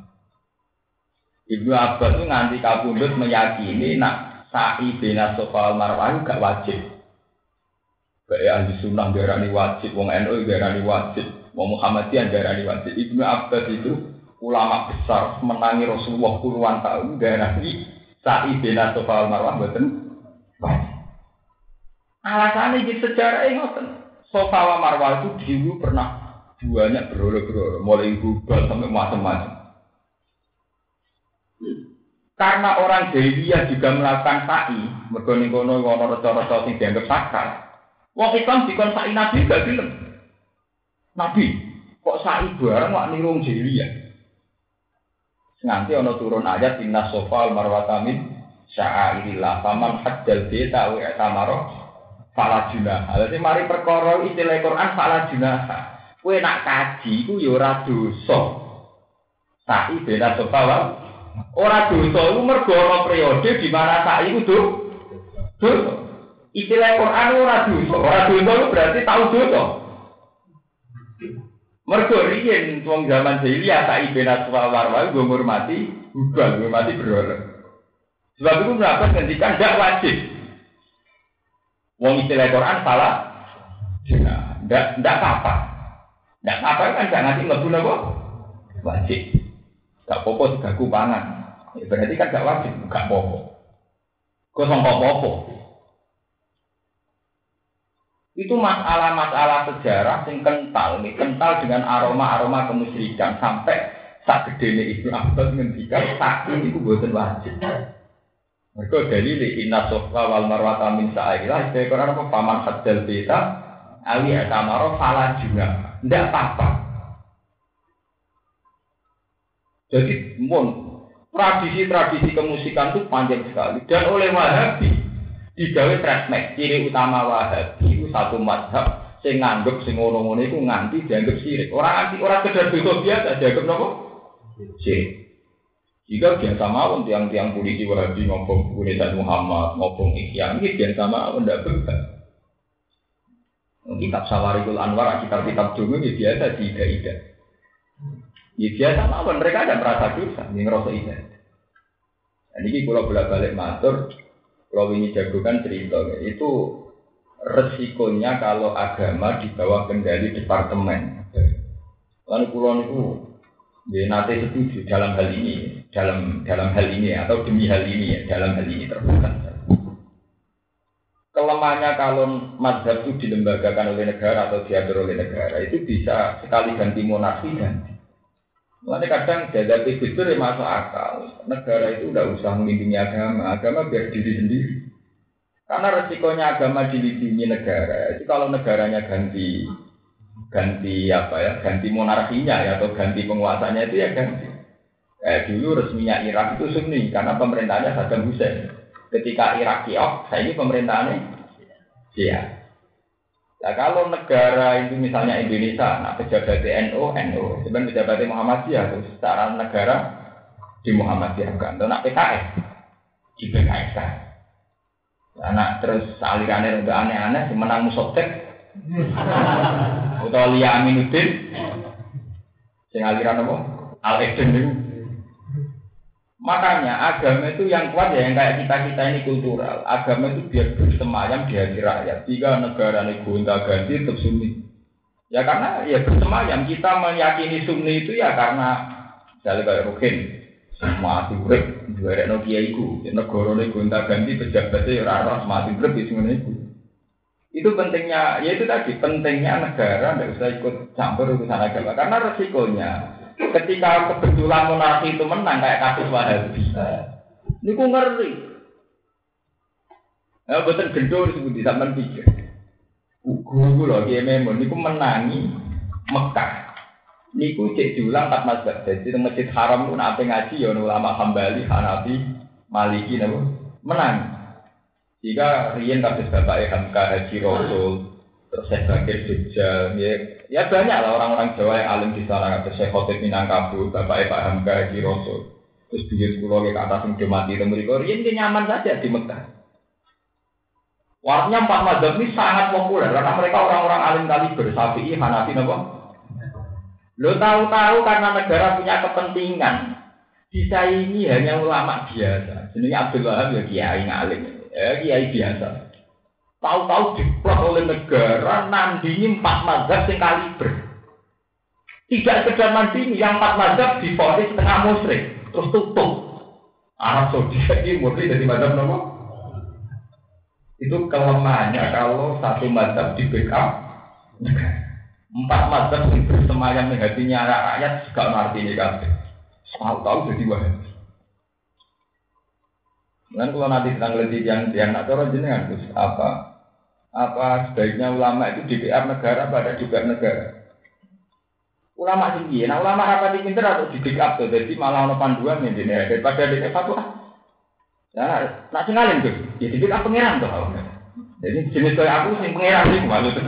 Ibnu Abbas itu nganti kapundhut meyakini nak sa'i bina Safa wal Marwah gak wajib. Bae ahli sunnah darani wajib, wong N U darani wajib, wong Muhammadiyah darani wajib. Ibnu Abbas itu ulama besar menangi Rasulullah puluhan tahun darani sa'i bina Safa wal Marwah mboten wajib. Alasannya di sejarah ngoten. Safa wal Marwah itu dulu pernah banyak berolo-berolo, mulai gubal sampai macam-macam. Karena orang jahiliyah juga melakukan sa'i, mergo ning kono ana reca-reca sing dianggap sakral. Wong Islam dikon sa'i Nabi gak gelem. Nabi kok sa'i bareng wak niru wong jahiliyah. Nganti ana turun ayat inna Safa wal Marwah min sya'airillah faman hajjal baita wa tamara fala junah. Alate mari perkara istilah Quran fala junah. Kowe nak kaji iku ya ora dosa. Sa'i bena Safa wal ora dosa iku mergo ana periode di mana sa'i iku dosa. Istilah Quran ora dosa. Ora dosa itu berarti tahu dosa. Mergo riyen wong zaman jahiliyah sa'i bena Safa wal Marwah nggo ngurmati hubal, ngurmati berhala. Sebab itu mendapat ngendikan ndak wajib. Wong istilah Quran salah. Nah, ndak ndak apa-apa. Ndak apa kan gak nganti mlebu napa? Wajib. Gak apa-apa digaku pangan. Ya, berarti kan gak wajib, gak apa-apa. Kok sangka apa-apa? Itu masalah-masalah sejarah yang kental, nih, kental dengan aroma-aroma kemusyrikan sampai sak gedene Ibnu Abbas ngendikan saking itu boten wajib. Mergo dalil inna sofa wal marwata min sa'ilah itu Quran apa paman hadzal beta ali atamaro fala juga. Ndak apa-apa. Jadi mon tradisi-tradisi kemusikan itu panjang sekali dan oleh Wahabi digawe tresmek ciri utama Wahabi itu satu mazhab sing nganggep sing ngono-ngono iku nganti dianggap syirik. Orang anti orang kedar dosa biasa dianggap napa? Syirik. Jika biasa mawon tiang-tiang polisi Wahabi ngomong Nabi Muhammad, ngomong Ihya, ini biasa mawon ndak berbeda. Kitab Sawarikul Anwar, kitab-kitab dulu ini biasa tidak-tidak. Ya biasa mawon mereka ada merasa dosa, ini ngerasa ibadah. Dan ini kalau bolak-balik matur, kalau ini jagokan cerita, itu resikonya kalau agama di bawah kendali departemen. Lalu kulon itu ya, nanti setuju dalam hal ini, dalam dalam hal ini atau demi hal ini ya, dalam hal ini terbuka. Kelemahannya kalau mazhab itu dilembagakan oleh negara atau diatur oleh negara itu bisa sekali ganti monarki ganti. Lalu kadang dihadapi fitur yang masuk akal. Negara itu tidak usah melindungi agama, agama biar diri sendiri. Karena resikonya agama dilindungi negara. Itu kalau negaranya ganti ganti apa ya, ganti monarkinya ya, atau ganti penguasanya itu ya ganti. Eh, dulu resminya Irak itu Sunni karena pemerintahnya Saddam Hussein. Ketika Irak kiok, saya ini pemerintahannya Syiah. Nah kalau negara itu misalnya Indonesia, nah pejabat N U, N U, sebenarnya pejabat Muhammadiyah itu secara negara di Muhammadiyah kan, atau nak P K S di P K S kan. Nah terus alirannya udah aneh-aneh, menang Musotek, atau Lia Aminuddin, sing aliran apa? Al Eden itu. Makanya agama itu yang kuat ya, yang kayak kita-kita ini kultural. Agama itu biar bersemayam di hati rakyat. Jika negara ini gonta-ganti tetap Sunni. Ya karena ya bersemayam, kita meyakini Sunni itu ya karena misalnya kayak Rukin, mati urip, juara no kiaiku, negara ini gonta-ganti pejabatnya orang-orang mati urip itu itu. Itu pentingnya, ya itu tadi pentingnya negara tidak usah ikut campur urusan agama karena resikonya. Ketika kebetulan monarki itu menang kayak kasus Wahabi, ini ku ngeri. Ya betul gendor disebut di zaman pikir. Guru loh dia memang, ini ku menangi Mekah. Ini ku cek diulang tak mazhab. Jadi di masjid Haram pun apa ngaji ya ulama Hambali, Hanafi, Maliki nabo menang. Jika riyen kasus bapak Hamka Haji Rasul. Terus saya Bakir Jogja, ya, ya banyak lah orang-orang Jawa yang alim di sana. Terus saya Khotib Minangkabau, Bapak Pak Hamka Haji Rasul. Terus beliau sekolah ke atas yang sudah mati itu mereka, ini nyaman saja di Mekah. Warnanya empat mazhab ini sangat populer karena mereka orang-orang alim kaliber, Syafi'i, Hanafi, apa? Lo tahu-tahu karena negara punya kepentingan, bisa ini hanya ulama biasa. Sebenarnya Abdul Wahab ya kiai ngalim, ya kiai biasa. Tahu-tahu diplot oleh negara nandingi empat mazhab yang kaliber. Tidak sekedar nandingi, yang empat mazhab difonis setengah musyrik, terus tutup. Arab Saudi ini murni dari mazhab nomor. Itu kelemahannya kalau satu mazhab di backup negara. Empat mazhab yang bersemayam di hatinya rakyat juga ngerti ini kan. Tahu-tahu jadi Wahabi. Dan kalau nanti kita ngeliti yang yang nak cara jenengan terus apa? Apa sebaiknya ulama itu D P R negara pada juga negara. Ulama tinggi, nah ulama apa di pinter atau di backup tuh, jadi malah ono panduan nih daripada di fatwa. Nah, nak cengalin tuh, ya di backup pangeran tuh. Jadi jenis kayak aku sih pangeran sih malu tuh.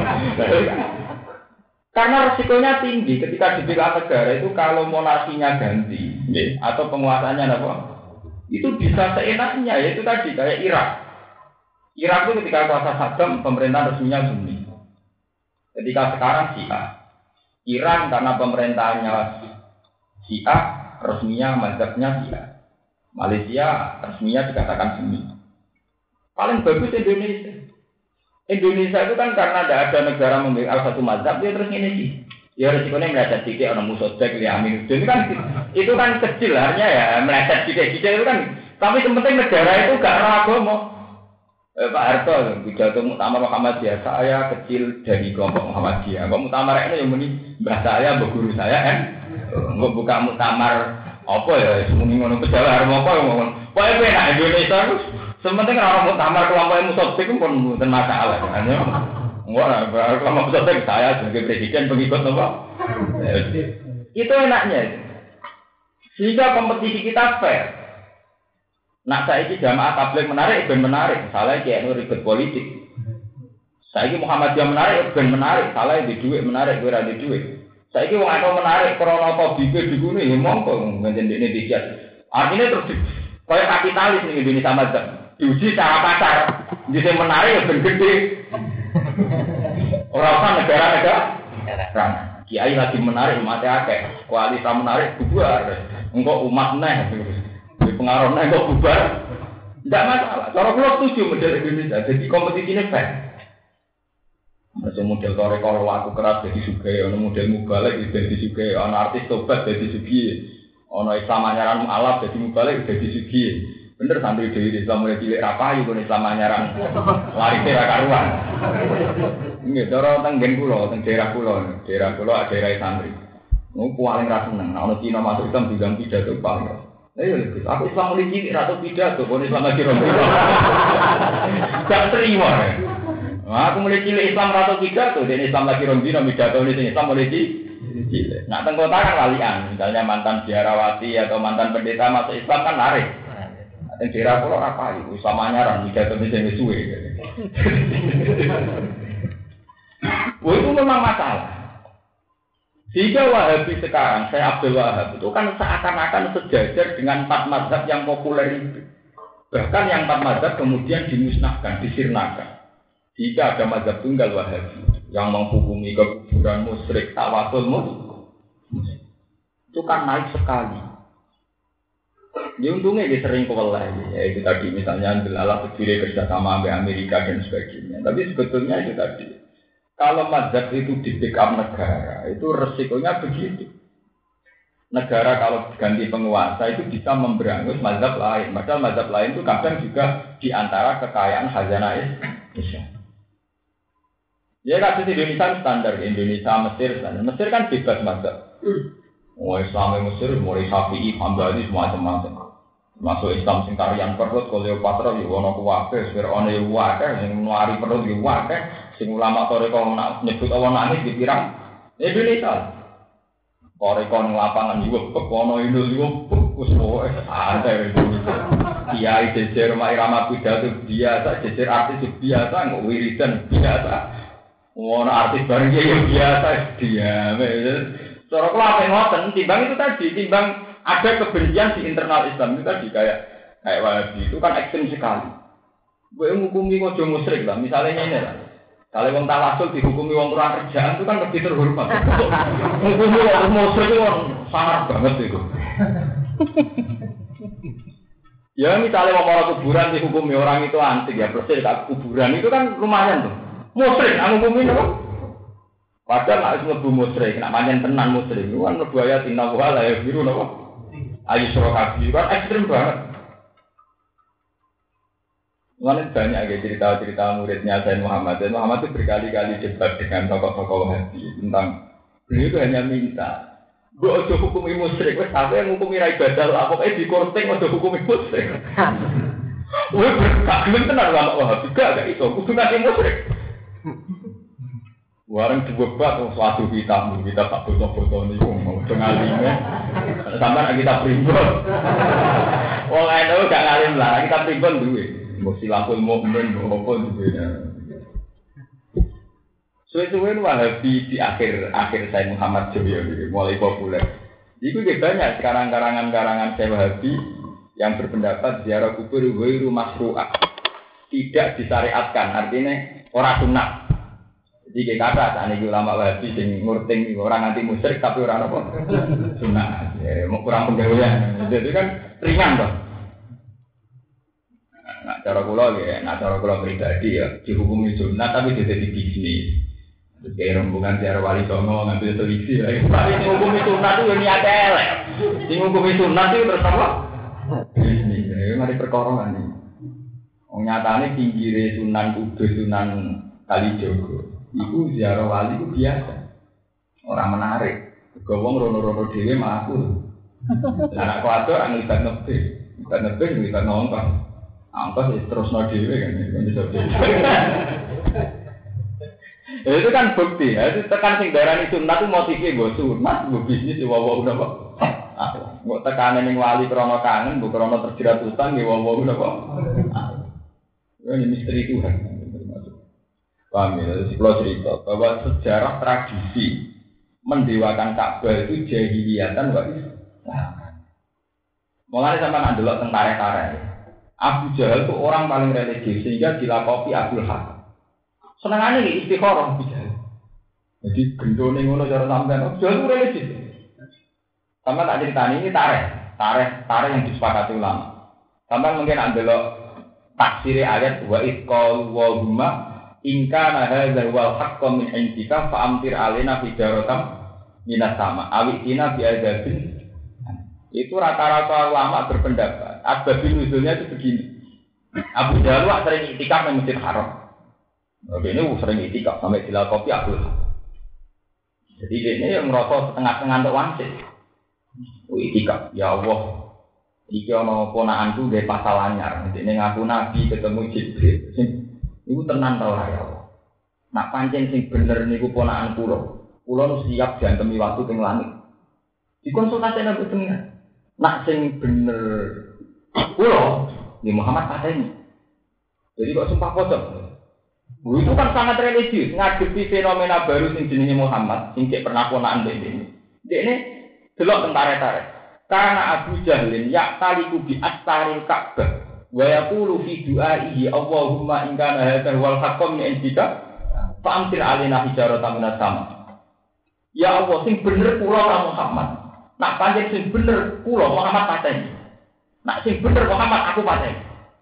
Karena resikonya tinggi ketika di backup negara itu kalau monarkinya ganti, atau penguasanya apa, itu bisa seenaknya, yaitu tadi kayak Irak. Irak itu ketika kuasa Saddam, pemerintah resminya Sunni. Ketika sekarang Syiah. Iran karena pemerintahannya Syiah, resminya mazhabnya Syiah. Malaysia resminya dikatakan Sunni. Paling bagus Indonesia. Indonesia itu kan karena tidak ada negara memiliki satu mazhab, dia terus ini sih. Ya resikonya meleset sedikit, orang Musotek, Lia Aminuddin itu kan itu kan kecil, artinya ya meleset sedikit-sedikit itu kan. Tapi yang penting negara itu gak ada agama. Eh, Pak Harto, pidato muktamar Muhammadiyah, saya kecil dari kelompok Muhammadiyah. Kok muktamar ini yang muni mbah saya, mbah guru saya kan? Nggak buka muktamar apa ya? Muni ngono pejalan harus apa ngomong. Pokoke enak Indonesia terus. Sementing orang muktamar kelompok musotik pun bukan masalah kan? Enggak lah, kelompok musotik saya sebagai presiden pengikut apa? Itu enaknya. Sehingga kompetisi kita fair. Nak saiki jamaah tabligh menarik, ben menarik. Salah iki anu ribet politik. Saiki Muhammadiyah menarik, ben menarik. Salah di dhuwit menarik, kowe ora di dhuwit. Saiki wong akeh menarik krana tabike digune ya monggo ngene ndekne dicet. Artine terus kaya kapitalis ning Indonesia madzhab. Diuji secara pasar. Jadi menarik ya ben gede. Ora usah negara-negara. Kan kiai lagi menarik mate akeh. Kualitas menarik bubar. Engko umat neh. Pengaruhnya kok bubar, tidak masalah. Kalau pulau setuju model Indonesia, jadi kompetisinya fair. Macam model korek-korek waktu keras jadi sugai, ada model mubalik jadi sugai, ada artis tobat jadi sugi, ada Islam anyaran mu'alaf jadi mubalik jadi sugi. Bener santri dewi Islam mulai cilik rapayu, kalau Islam anyaran lari tera karuan. Ini cara tenggen pulau, teng daerah pulau, daerah pulau ada daerah santri. Mau paling rasa seneng, kalau Cina masuk Islam juga pidato paling. Ayo, aku Islam mulai cilik atau pidato, kalau Islam lagi rompi. Gak terima. Nah, aku mulai cilik Islam atau pidato, dan Islam lagi rompi, pidato ini Islam mulai cilik. Nah, tengkota kan lalian, misalnya mantan biarawati atau mantan pendeta masuk Islam kan lari. Yang daerah pulau apa itu? Islam anyaran, pidato ini yang suwe. Wah, itu memang masalah. Sehingga Wahabi sekarang, saya Abdul Wahab itu kan seakan-akan sejajar dengan empat mazhab yang populer itu. Bahkan yang empat mazhab kemudian dimusnahkan, disirnakan. Jika ada mazhab tunggal Wahabi yang menghukumi kekufuran musyrik, tawasul musyrik, itu kan naik sekali. Ya untungnya dia sering kewalahan, ya itu tadi misalnya ambil alat berdiri kerjasama dengan Amerika dan sebagainya. Tapi sebetulnya itu tadi. Kalau mazhab itu di backup negara, itu resikonya begitu. Negara kalau ganti penguasa itu bisa memberangus mazhab lain. Padahal mazhab lain itu kadang juga di antara kekayaan khazanah Islam. Ya kasus Indonesia standar, Indonesia, Mesir, standar. Mesir kan bebas mazhab. Oh Islam Mesir, mulai Syafi'i, Hambali, semacam-macam. Masuk Islam sing tarian perut, Kleopatra yo ono kuwabe, Fir'aun yo wae, sing nuari perut yo wae, sing ulama toreko nak nyebut Allah nangis dipirang Indonesia. Toreko ning lapangan yo ono Indul yo wis pokoke santai Indonesia. Kiai jejer mak irama pidato biasa, jejer artis biasa, kok wiridan biasa. Ono artis bareng yo biasa diame. Cara kula ngoten timbang itu tadi, timbang ada kebencian di internal Islam itu tadi kayak kayak Wahabi itu kan ekstrem sekali. Gue menghukumi ojo musyrik lah, misalnya ini lah. Kalau wong tawasul dihukumi wong kurang kerjaan itu kan lebih terhormat. Menghukumi wong musyrik itu sangat banget itu. Ya misalnya wong orang kuburan dihukumi orang itu antik ya, persis tak kuburan itu kan lumayan tuh. Musyrik, aku hukumi apa? Padahal nak mlebu musyrik, nak pancen tenan musyrik, itu kan mlebu ayat inna wa la yaghfiru napa? Ayu surakabi kan ekstrem banget. Mana banyak ya cerita-cerita muridnya Sayyid Muhammad. Sayyid Muhammad itu berkali-kali debat dengan tokoh-tokoh Wahabi tentang beliau itu hanya minta, gue ojo hukumi musyrik, wes apa yang hukumi rai badal lah, pokoknya di korting ojo hukumi musyrik. Wes berkak gelem tenan ulama Wahabi, gak gak itu, kudu nanti musyrik. Warang dibebat suatu kita, kita tak foto-foto nih, mau dengalimnya, sampai kita primbon. Wong eno gak ngalim lah, kita primbon dulu. Mau silapul mukmin, mau apa dulu. Suwe-suwe Wahabi di akhir akhir Sayyid Muhammad Joyo mulai populer. Itu juga banyak sekarang karangan-karangan Sayyid Wahabi yang berpendapat ziarah kubur wairu masru'ah, tidak disyariatkan, artinya ora sunat. Jadi kayak kata, saat ini ulama Wahabi yang ngurting orang anti musyrik tapi orang apa? Sunnah, ya, mau kurang penggawaian. Jadi kan ringan toh. Nah, cara kula ya, nah cara kula pribadi ya, dihukumi sunnah tapi jadi di bisnis. Terus kayak rombongan ziarah wali songo ngambil selisih. Tapi dihukumi sunnah itu yang niat elek. Dihukumi sunnah itu terus apa? Bisnis, ya, mari perkara ini. Nyatane pinggire Sunan Kudus, Sunan Kalijogo. Iku ziarah wali itu biasa. Orang menarik. Gowong rono-rono dhewe mlaku. Lah anak kuwatir ang libat nebe. Libat nebe libat nongkos. Angkos wis terusno dhewe kan iso dhewe. Itu kan bukti, ya. Itu tekan sing darani sunat itu motifnya nggo sunat, nggo bisnis wawa napa. Ah, nggo tekane ning wali krana kangen, mbok krana terjerat utang nggih wawa napa. Ini misteri Tuhan. Paham ya, kalau cerita bahwa sejarah tradisi mendewakan Ka'bah itu jahiliyatan wa Islam. Mulai sama nandelok tentara-tentara. Abu Jahal itu orang paling religius sehingga dilakopi Abdul Hakam. Senengannya ini istikharah Abu Jahal. Jadi gendone ngono cara sampean Abu Jahal itu religius. Sama tak ceritani ini tareh, tareh, tareh yang disepakati ulama. Sampean mungkin nandelok tafsir ayat wa itqal wa huma in kana hadzal wal haqqu min indika fa amtir alaina hijaratan minas sama awitina bi adzabin. Itu rata-rata ulama berpendapat asbabun nuzulnya itu begini. Abu Jahal wak sering iktikaf di Masjid Haram. Oke, ini sering iktikaf sampai dilakopi Abdul Hakam. Jadi ini yang merasa setengah-setengah untuk wangsit. Iktikaf, ya Allah. Iki ana ponakanku nggih pasal anyar. Dene ngaku nabi ketemu Jibril. Iku tenan ta ora ya Allah. Nak pancen sing bener niku ponakan kula. Kula nu siap diantemi waktu teng langit. Dikonsultasi nang pengen. Nak sing bener kula di Muhammad pateni. Jadi kok sumpah pocong. Itu kan sangat religius ngadepi fenomena baru sing jenenge Muhammad, sing cek pernah ponakan dene. Dene delok tentara-tentara. Karena Abu Jahlin ya'taliku bi astaril Ka'bah. Wa yaqulu fi du'aihi Allahumma in kana hadzal wal haqqu min indika fa amtir alaina hijaratan minas sama. Ya Allah sing bener kula ora Muhammad. Nak pancen sing bener kula Muhammad pateni. Nak sing bener Muhammad aku pateni.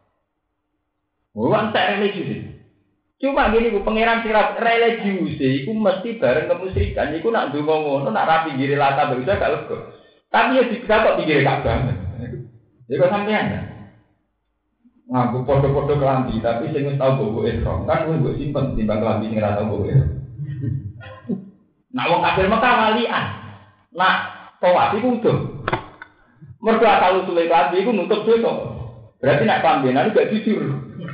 Wong tak religius. Cuma gini ku pangeran sirat religius iku mesti bareng kemusyrikan iku nak ndonga ngono nak ra pinggire lata bisa gak lega. Tapi ya dikira kok pinggire Ka'bah. Ya kok sampean ngaku podo-podo kelambi, tapi sing wis tau bobo ihram kan wis mbok simpen timbang kelambi sing ora tau bobo ihram. Nak wong kafir Mekah walian. Nak tawaf iku udah. Mergo asal usule kelambi iku nutup dosa. Berarti nak kelambinan gak jujur.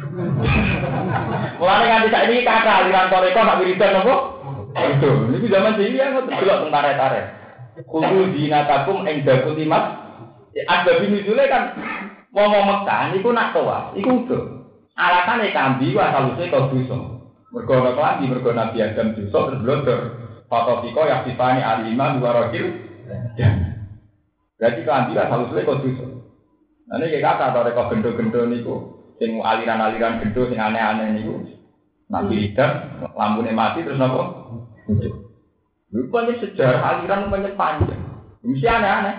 Mulane nganti saiki kakak aliran toreko nak wiridan apa? Itu, niku zaman jahiliyah kok delok tentara-tentara. Kudu dinatakum ing dakutimat. Ada binujule kan wong-wong Mekah niku nak tawaf, iku uga. Alasane kambi wae saluse kok dosa. Mergo ora kelambi, mergo Nabi Adam dosa terus blodor. Fatofiko yaktifani alima duwarokil. Berarti kambi wae saluse kok dosa. Nah niki kata toreko gendo-gendo niku sing aliran-aliran gendo sing aneh-aneh niku. Nabi Adam lampune mati terus napa? Rupanya sejarah aliran banyak panjang. Mesti aneh-aneh.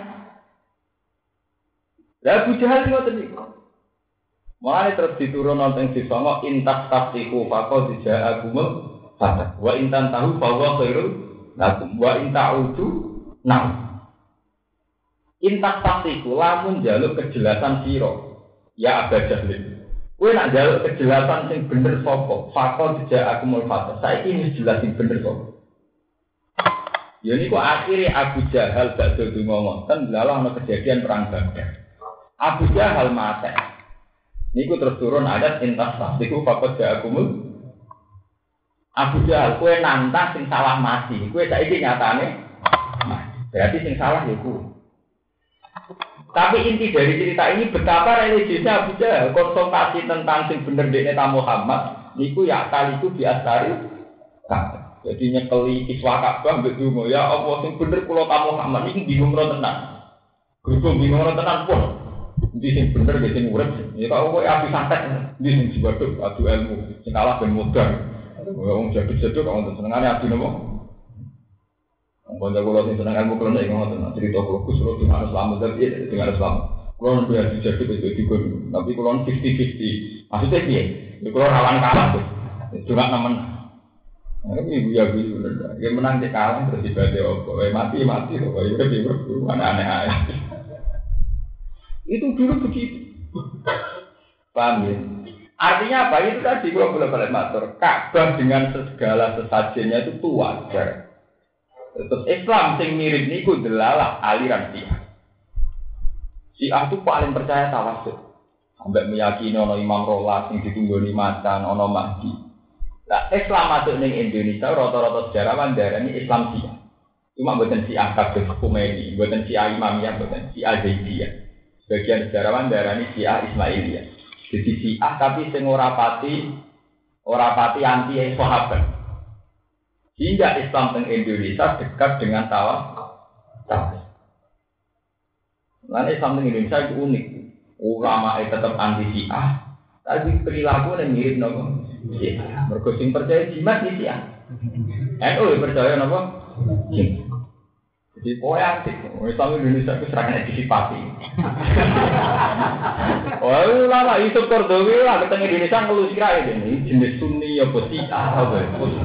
Lah Abu Jahal ngoten niku. Mulane terus diturun nonton di songo intas tafsiku faqad ja'akumul fatah. Wa intan tahu bahwa khairul lakum wa inta'udu nah. Intas tafsiku lamun njaluk kejelasan sira. Ya Abu Jahal. Kowe nak njaluk kejelasan sing bener sapa? Faqad ja'akumul fatah. Saiki wis jelas sing bener sapa? Ya niku akhire Abu Jahal badhe donga ngoten lalah ana kejadian perang Badar. Abu Jahal mati. Niku terus turun ayat intas niku faqad ja'akumul. Abu Jahal kowe nantang sing salah mati. Kowe saiki nyatane berarti sing salah ya kowe. Tapi inti dari cerita ini betapa religiusnya Abu Jahal konsultasi tentang sing bener dekne ta Muhammad niku ya kali itu diasari. Jadi nyekeli kiswa Ka'bah mbek donga ya Allah sing bener kula ta Muhammad iki bingung ora tenan. Grup bingung ora tenan pun. Ndi sing bener ge sing urip. Ya kok kowe api santet ndi sing diwaduk adu ilmu sing kalah ben modal. Wong jaduk-jaduk kok wonten senengane adu napa? Wong kanca kula sing seneng ilmu kula nek ngoten cerita kula Gus kula dengan Islam tapi dengan Islam. Kula nu adu jaduk itu dikon tapi kula lima puluh lima puluh. Maksudnya piye? Kula rawan kalah Gus. Cuma nemen. Ini ya bisu bener. Dia menang di kalah terus ibadah opo. Mati mati kok. Ya udah bingung. Aneh-aneh aja. Itu dulu begitu. Paham ya? Artinya apa? Itu tadi gua boleh balik matur. Ka'bah dengan segala sesajennya itu tuh wajar. Terus Islam sing mirip niku delalah aliran Syiah. Syiah itu paling percaya tawasul. Sampai meyakini ono Imam Rolas sing ditunggoni macan, ono Mahdi. Nah, Islam masuk ning Indonesia rata-rata sejarawan darani Islam Syiah. Cuma mboten Syiah kabeh Khomeini, mboten Syiah Imamiyah, mboten Syiah Zaidiyah. Sebagian sejarawan darani Syiah Ismailiyah. Jadi Syiah tapi sing ora pati ora pati anti sahabat. Hingga Islam teng Indonesia dekat dengan tawaf. Lan Islam teng Indonesia itu unik. Ulama itu tetap anti Syiah, tapi perilaku yang mirip nopo Syiah. Mergo sing percaya jimat di Syiah. N U percaya nopo jimat. Jadi poya antik. Islam Indonesia itu serangan disipati. Oh, lama itu Kordowi lah ketemu Indonesia ngelus kira ini jenis Sunni apa Syiah apa.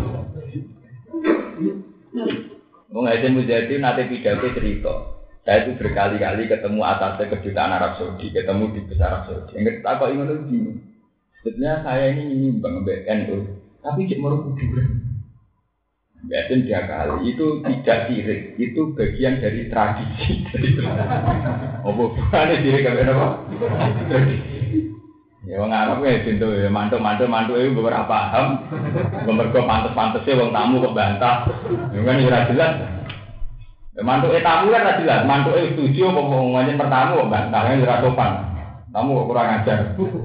Mengajar Mujahidin nanti pidato cerita. Saya itu berkali-kali ketemu atasnya kedutaan Arab Saudi, ketemu di besar Arab Saudi. Yang kita kok ingin lebih. Sebenarnya saya ini nyimbang B N U, tapi cek merupakan kuburan. Biasanya tiga kali itu tidak sirik, itu bagian dari tradisi. Oh bukan sirik apa apa? Ya orang Arab ya pintu ya mantu mantu mantu itu beberapa paham, beberapa pantas-pantasnya orang tamu kok bantah, itu kan tidak jelas. Mantu eh tamu kan jelas, mantu eh setuju apa ngomongin pertamu kok bantahnya tidak sopan, tamu kok kurang ajar.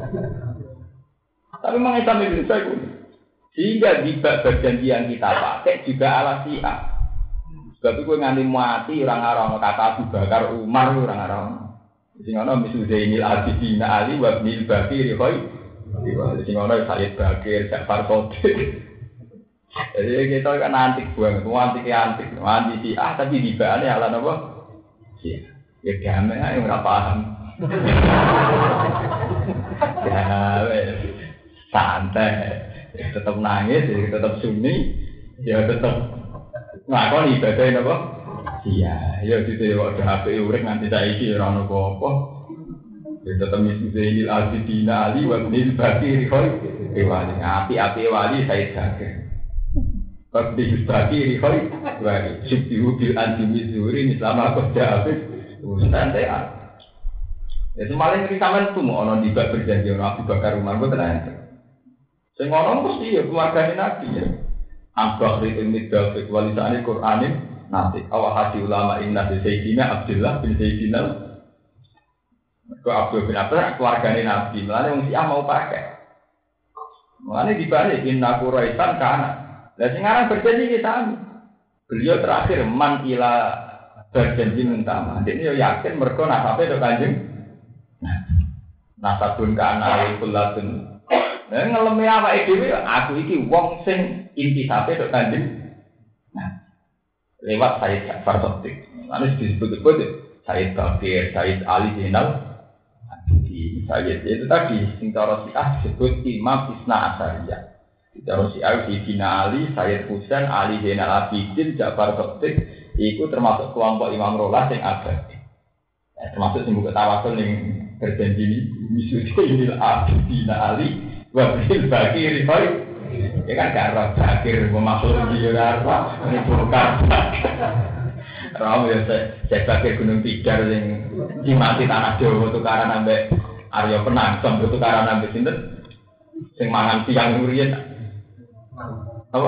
Tapi memang Islam Indonesia itu, sehingga di bagian yang kita pakai juga ala Syiah. Sebab itu nganti mati orang-orang kata Abu Bakar Umar orang-orang. Sing ana misu Zainil Abidin Ali wa Ibnul Bakir khoi. Sing ana Sayyid Bakir, Ja'far Shadiq. Jadi kita kan antik banget, antik antik, anti Syiah tapi dibane ala napa? Syiah. Ya damai ae ora paham. Ya wes santai. Tetap nangis, tetap Sunni, ya tetap ngakoni ibadah napa? Iya, ya gitu ya waktu H P urip nganti saiki ora ono apa-apa. Ya tetep misi Zainil Abidin Ali wa Ibnul Bakir khoi. Wali api-api wali Said Bakir. Ibnul Bakir khoi. Wali subtihu bil anti mizuri mislama qada habis. Ustaz ya. Ya semaling iki sampean tuh ono dibak berjanji ono Abu Bakar Umar kok tenan. Sing ono mesti ya keluargane Nabi ya. Ambak ri midal walisane Qur'anin nanti awal hati ulama inna di Sayyidina Abdullah bin Sayyidina ke Abdul bin Abdullah keluarganya Nabi melani yang Syiah mau pakai melani dibalik inna Quraisan kana dan sekarang berjanji kita beliau terakhir man ila berjanji mentama ini yakin mereka nasabnya itu kanjeng nasabun kana kulatun dan ngelemi apa itu aku iki wong sing inti sampai itu kanjeng lewat Sayyid Ja'far Shadiq. Lalu disebut-sebut Sayyid Bakir, Sayyid Ali Zainal Abidin, Sayyid itu tadi sing cara Syiah disebut Imam Isna Asyariyah. Cara Syiah Sayyidina Ali, Sayyid Husain, Ali Zainal Abidin, Ja'far Shadiq itu termasuk kelompok Imam Rolas yang abadi. Ya, termasuk sing buka tawasul yang berjanji ini Zainal Abidin Ali wa Ibnul Bakir khoi. Ya kan gak Bakir makhluk dia apa ini bukan Ram ya saya Bakir Gunung Tidar yang dimati tanah Jawa tukaran ambek Arya Penangsem tukaran ambek sinten sing mangan siang ngurian apa?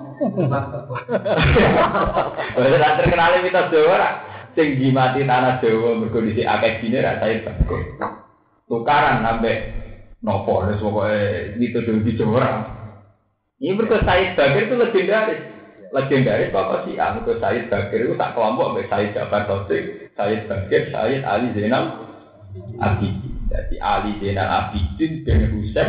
Wis terkenal mitos Jawa sing dimati tanah Jawa mergo dhisik akeh dine ra saya Bakir tukaran ambek nopo wis pokoke dituduh di Jawa. Ini berkata Sayyid Bakir itu legendaris, legendaris apa sih? Ah, berkata Sayyid Bakir itu tak kelompok dengan Sayyid Ja'far Shadiq, Sayyid Bakir, Sayyid Ali Zainal Abidin. Jadi Ali Zainal Abidin bin Husain.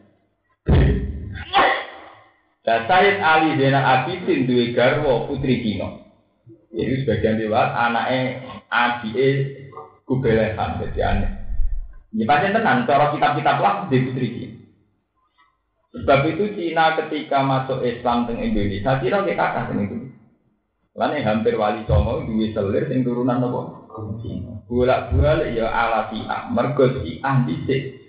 Dan Sayyid Ali Zainal Abidin dua garwa putri Cina. Jadi sebagian lewat anaknya adike Kubelehan jadi aneh. Ini pasien tenan, cara kitab-kitab lah di putri Cina. Sebab itu Cina ketika masuk Islam teng Indonesia, Cina kayak kakak teng itu. Karena hampir wali songo dua selir sing turunan apa? Cina. Bolak-balik ya ala Syiah, mergo Syiah dhisik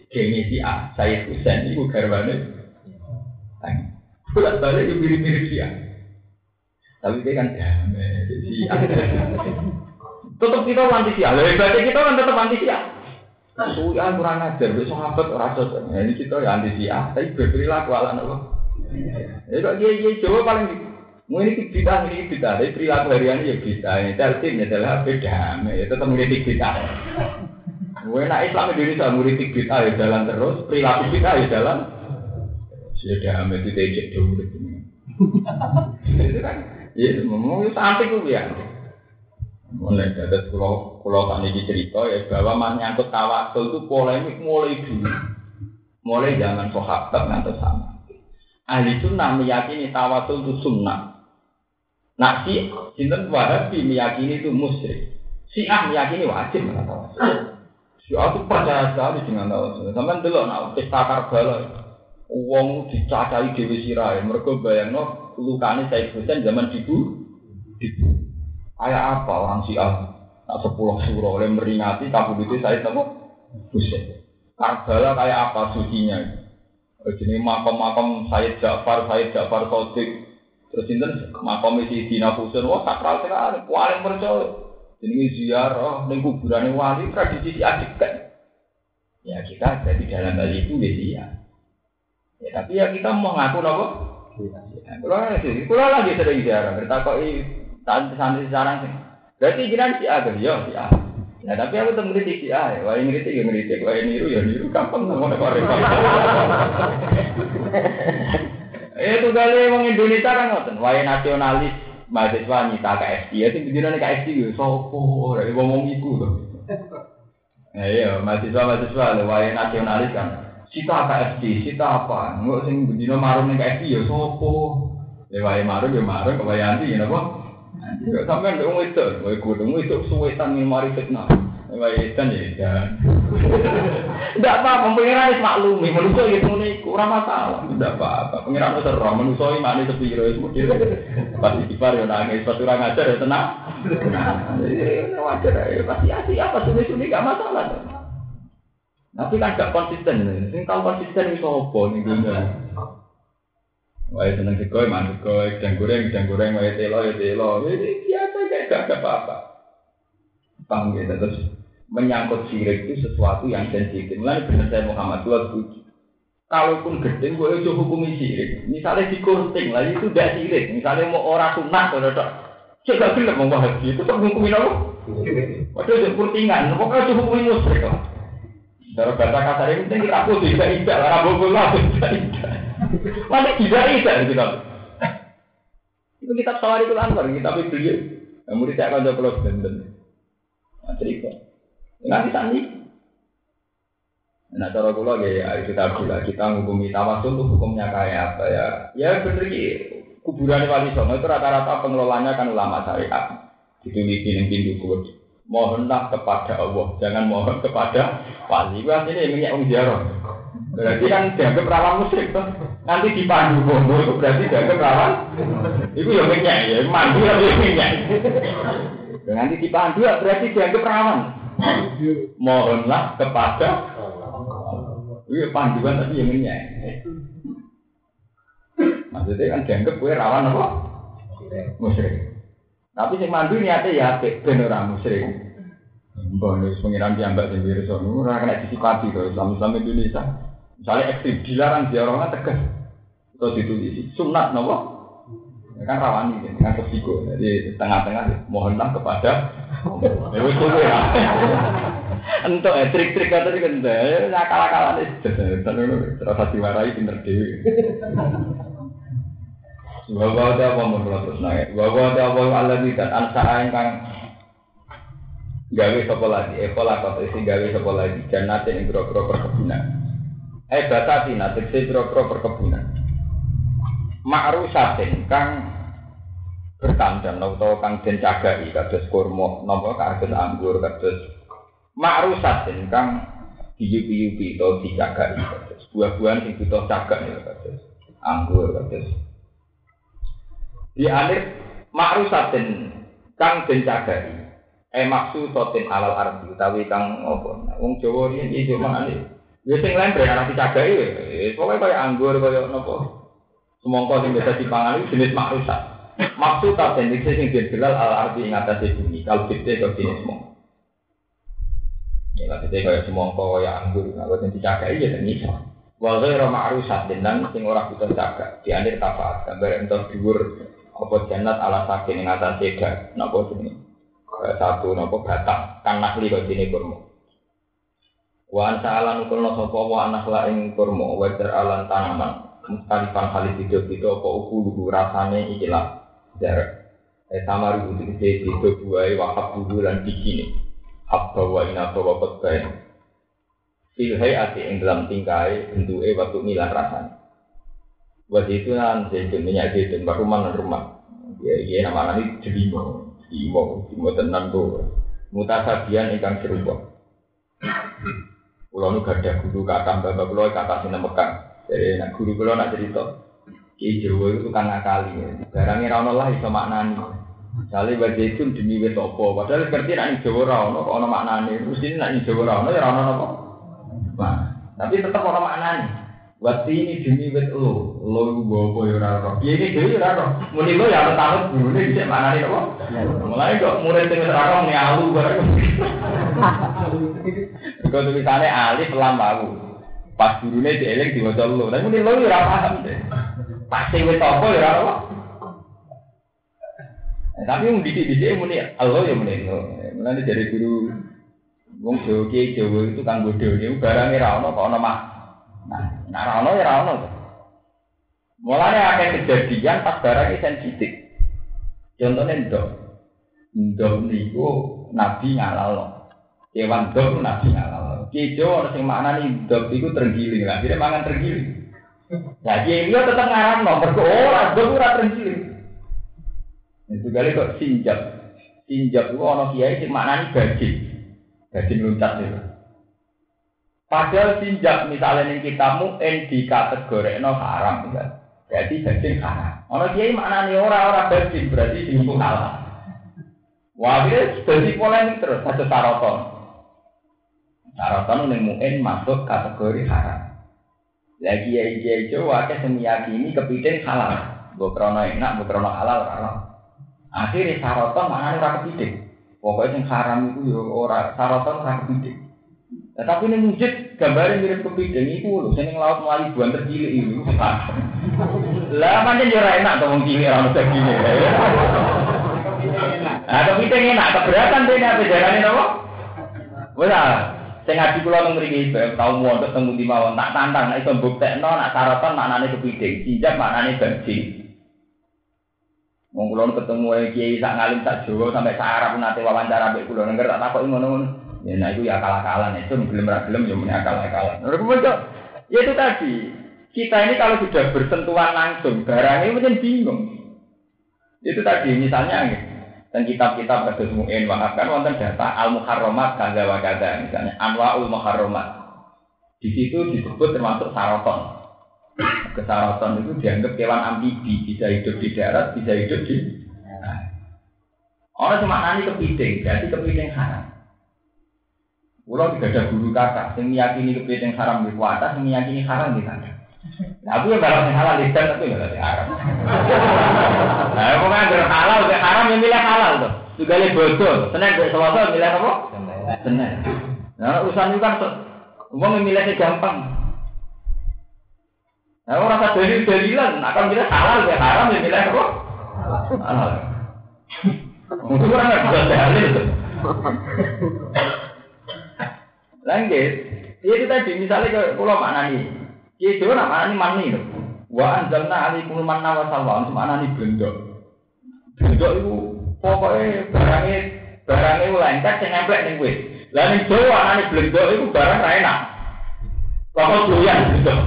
gengnya si A, Said Husain itu garwane. Bulat balik itu mirip-mirip si A. Tapi dia kan damai si A. Tetap kita anti si A. Hebatnya kita kan tetap anti si A. Suwi A kurang ajar, besok sahabat rasa. Ini kita ya anti si A, tapi berperilaku ala apa? Ya kok dia dia Jawa paling mau ini kita ini kita, tapi perilaku harian ya kita. Ini tertibnya adalah beda, ya tetap mengkritik kita. Gue nak Islam Indonesia mengkritik kita ya jalan terus, perilaku kita ya jalan. Sudah amat itu ejek dulu itu. Itu kan, ya mau sampai gue ya. Mulai dari pulau pulau tadi cerita ya bahwa menyangkut tawasul itu polemik mulai dulu, mulai zaman sahabat nanti sama. Ahli sunnah meyakini tawasul itu sunnah. Nah si Sinten Wahabi meyakini itu musyrik. Syiah meyakini wajib dengan tawasul. Syiah itu percaya sekali dengan tawasul. Sampai dulu nak pesta Karbala. Uang dicacai dewi sirai, mereka bayangno lukane Said Husain zaman dibu, dibu. Kayak apa orang Syiah? Tak sepuluh surah oleh meringati kabudute Said apa? Husain. Karbala kayak apa sucinya? Jadi makam-makam Said Ja'far, Said Ja'far Shadiq, terus ini makam isi Dina Husain, wah sakral sekali, paling percaya. Jadi ziarah, ning kuburan wali tradisi si adik kan? Ya kita jadi dalam hal itu dia. Ya, tapi ya kita mau ngaku apa? Ya, kalau lagi, kalau lagi sering ziarah, bertakoi santri-santri sekarang sih. Berarti jiran si A, ya si A. Ya, tapi aku tetap ngeritik si A. Wah ngeritik ya ngeritik, wah niru ya niru, gampang ngomong apa repot. Eh, itu kali orang Indonesia kan ngoten, wah nasionalis mahasiswa nyita K S I, itu begini K S I gitu, sopo, dari ngomong iku tuh. Ya iya, mahasiswa-mahasiswa, wah nasionalis kan. Sita K S D, sita apa? Enggak sing bendino marung ning K S D ya sapa? Ya wae marung ya marung kok wae anti ya napa? Anti kok sampean wong itu, wae kudu itu suwetan ning mari fitnah. Wae edan ya edan. Ndak apa-apa, pengiran wis maklumi, manusa iki ngene iku ora masalah. Ndak apa-apa, pengiran wis ora manusa iki makne sepiro wis mudhil. Pasti dipar yo nangis, pasti ora ngajar ya tenang. Ini wajar ya, pasti asih apa suni-suni gak masalah. Tapi kan gak konsisten, sing tau konsisten itu apa nih dunia? Wah seneng sekoi, mantu sekoi, dan goreng, dan goreng, wah telo, ya telo, ini biasa kayak gak ada apa-apa. Paham gitu, terus menyangkut syirik itu sesuatu yang sensitif. Mulai benar saya Muhammad dua tujuh. Kalaupun gede, gue itu hukumi syirik. Misalnya dikurting, lah itu udah syirik. Misalnya mau orang sunnah, kalau tak, saya gak bilang mau haji itu tak hukumin apa? Waduh, itu kurtingan, pokoknya itu hukumin musyrik lah. Cara bahasa kasar ini penting kita pun tidak tidak lah, rabu lah tidak tidak. Mana tidak tidak gitu. Itu kitab Sawarikul Anwar, kitab beliau. Yang murid saya akan jawab kalau benar. Cerita. Nanti tadi. Nah cara kula ya kita bilang kita menghukumi tawasul itu hukumnya kayak apa ya? Ya benar ki kuburan Wali Songo itu rata-rata pengelolanya kan ulama syariat. Ditulis di pintu kubur. Mohonlah kepada Allah, jangan mohon kepada wali. Wah ini minyak wong ziarah. Berarti kan dianggap rawan musyrik tuh. Nanti dipandu bondo itu berarti dianggap rawan. Itu ya minyak ya, mandu tapi minyak. Nanti dipandu berarti dianggap rawan. Mohonlah kepada. Iya panduan tapi ya minyak. Maksudnya kan dianggap gue rawan apa? Musyrik. Tapi sing mandu niate ya apik ben ora musyrik. Mbah wis pengiran diambak sing wirsa niku ora kena disipati to Islam-Islam Indonesia. Misale ekstrem dilarang diarahna tegas. Terus ditulis sunat napa? Ya kan rawani dengan resiko. Jadi tengah-tengah mohonlah kepada ya wis kowe ya. Entuk eh trik-trik kata iki kan nakal-nakalan terus terus diwarai pinter dhewe. Bahwa ada apa menurut terus naik. Bahwa ada apa Allah tidak ansara ingkang gawe sapa lagi. Ekola kata isi gawe sapa lagi. Jannate ing grogro perkebunan. Eh batati nate ing grogro perkebunan. Ma'rusatin kang bertandang utawa kang den cagaki kados kurma napa kados anggur kados ma'rusatin kang diyupi-yupi utawa dicagaki kados buah-buahan sing butuh cagak ya kados anggur kados di akhir makrusatin kang den cagaki eh maksusatin alal ardi utawi kang apa wong Jawa riyen iki makane Ya sing lembre ora dicagaki ya. Pokoke kaya anggur kaya napa. Semangka sing biasa dipangan iki jenis makrusat. Maksud ta teknik sing didelal al-arti ing atase bumi. Kalau kita kok jenis semangka. Ya lha kita kaya semangka kaya anggur, nek sing dicagaki ya iso. Wa ghairu ma'rusat dan sing ora butuh cagak. Dianir tafaat gambar entuk dhuwur apa jannat ala saking ing atase dak napa jenenge. Satu napa batang kan nakli kok dene kurma. Wa antalan ukulna sapa wa anak la ing kurma wa alan tanaman mustalifan kali video-video apa ukulu rasane ikilah jar eh sama rubu iki video buai wakaf dulu lan bikini hak bawa ina bawa petbae silhai ati ing dalam tingkai bentuke waktu milah rasane wa itu nan zaitun minyak zaitun baruman rumah ya iya nama ini jelimo jelimo jelimo tenan tuh mutasabian ingkang serupa kulo nu gadah guru kata bapak kulo kata sing Mekah. Jadi nak guru kulo nak cerita Ki Jawa itu tukang ngakali. Barangnya ra ono lah iso maknani. Misale wae itu demi wis apa, padahal ngerti nek ning Jawa ra ono kok ono maknane. Mesti nek ning Jawa ra ono ya ra ono apa. Nah, tapi tetep ono maknane. Wati ini demi wis lo, lo iku apa ya ora ora. Piye iki dhewe ora ora. Muni lo ya tahu gurune dhisik maknane apa. Mulai kok murid sing ora ora muni alu bareng. Kok tulisane alif lam wau. Pas gurune dieling diwaca lo. Tapi muni lo ora paham deh. Pasti wis apa ya ora apa. Tapi wong didik-didik muni Allah ya muni lo. Mulane dari guru wong Jawa ki Jawa itu kang bodho niku barange ra ono kok ono mak. Nah, nek ra ono ya ra ono. Mulane akeh kejadian pas barang sensitif. Contohnya ndok. Ndok niku Nabi ngalalno. Kewan ndok Nabi ngalalno. Ki Jawa ana sing maknane ndok iku terenggiling. Lah dire mangan terenggiling. Lah dia tetep ngaramno mergo ora ndok ora terenggiling. Itu kali kok sinjap. Sinjap itu ana kiai sing maknane bajing. Bajing loncat itu. Padahal sinjap misalnya ning kitabmu en dikategorikno haram ya. Berarti bajing haram. Ana kiai maknane ora-ora bajing berarti sing halal. Wah, iki dadi polemik terus satu saraton. Saraton ning muen masuk kategori haram. Lagi kiai-kiai Jawa akeh sing meyakini kepiting halal. Mbok krono enak, mbok krono halal ora. Akhire saraton maknane ora kepiting. Pokoke sing haram iku ya ora saraton ora kepiting. Tetapi ini wujud gambarnya mirip kepiting itu lho, sing laut melayu buan tercilik itu. Lah pancen yo ora enak to wong cilik ora ono segine. Ah kepiting enak keberatan dene apa jarane napa? Wes ah, sing ngaji kula nang mriki tau mondok teng Muti mawon tak tantang nek iso mbuktekno nak saraton maknane kepiting, sinjap maknane bajing. Wong kula ketemu kiai sak ngalim sak Jawa sampai sak Arab nate wawancara mbek kula nengger tak takoki ngono-ngono. Ya nah itu ya akal-akalan itu belum gelem ya muni akal-akalan. Ya itu tadi kita ini kalau sudah bersentuhan langsung barangnya mungkin bingung. Itu tadi misalnya dan kitab-kitab kados Mu'in Wahab kan wonten data al-muharramat kadza wa kadza misalnya anwaul muharramat. Di situ disebut termasuk saraton. Kesaraton itu dianggap kewan amfibi, bisa hidup di darat, bisa hidup di nah. Orang cuma nani kepiting, jadi kepiting haram. Kalau tidak ada guru kata, yang meyakini kepiting haram di kuasa, yang meyakini haram di sana. Nah, aku yang balap yang halal di sana, aku yang balap yang haram. Nah, aku kan yang halal, yang haram yang milih halal tuh. Juga yang bodoh, Senin, Selasa milih apa? Senin. Nah, urusan itu kan, uang yang milihnya gampang. Nah, orang rasa dalil-dalilan, akan milih halal, yang haram yang milih apa? Halal. Mungkin orang nggak bisa dalil tuh. Lanjut, itu tadi misalnya kalau maknani, itu nak maknani mani loh. Wa anzalna alaikum manna wa salwa, itu maknani bendok. Bendok itu pokoknya barangnya barangnya lengket yang nempel ning wis. Lah ning Jawa maknani bendok itu barang ra enak. Pokok doyan bendok.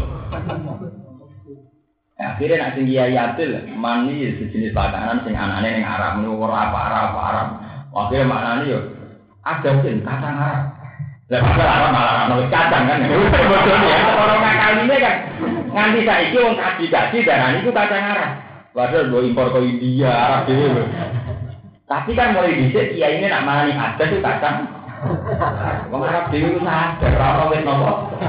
Akhirnya nak tinggi ayatil mani sejenis makanan sing anane ning Arab niku ora apa Arab Arab. Akhirnya maknani yo ada sing kacang Arab. Lah masalah malah ana kacang kan. Bodohnya orang ngakal ini kan nganti saiki wong kaji-kaji darani iku kacang Arab. Padahal go impor ke India, Arab dhewe. Tapi kan mulai dhisik kiai ini nak marani adat itu kacang Wong Arab dhewe ku sadar ora wis napa.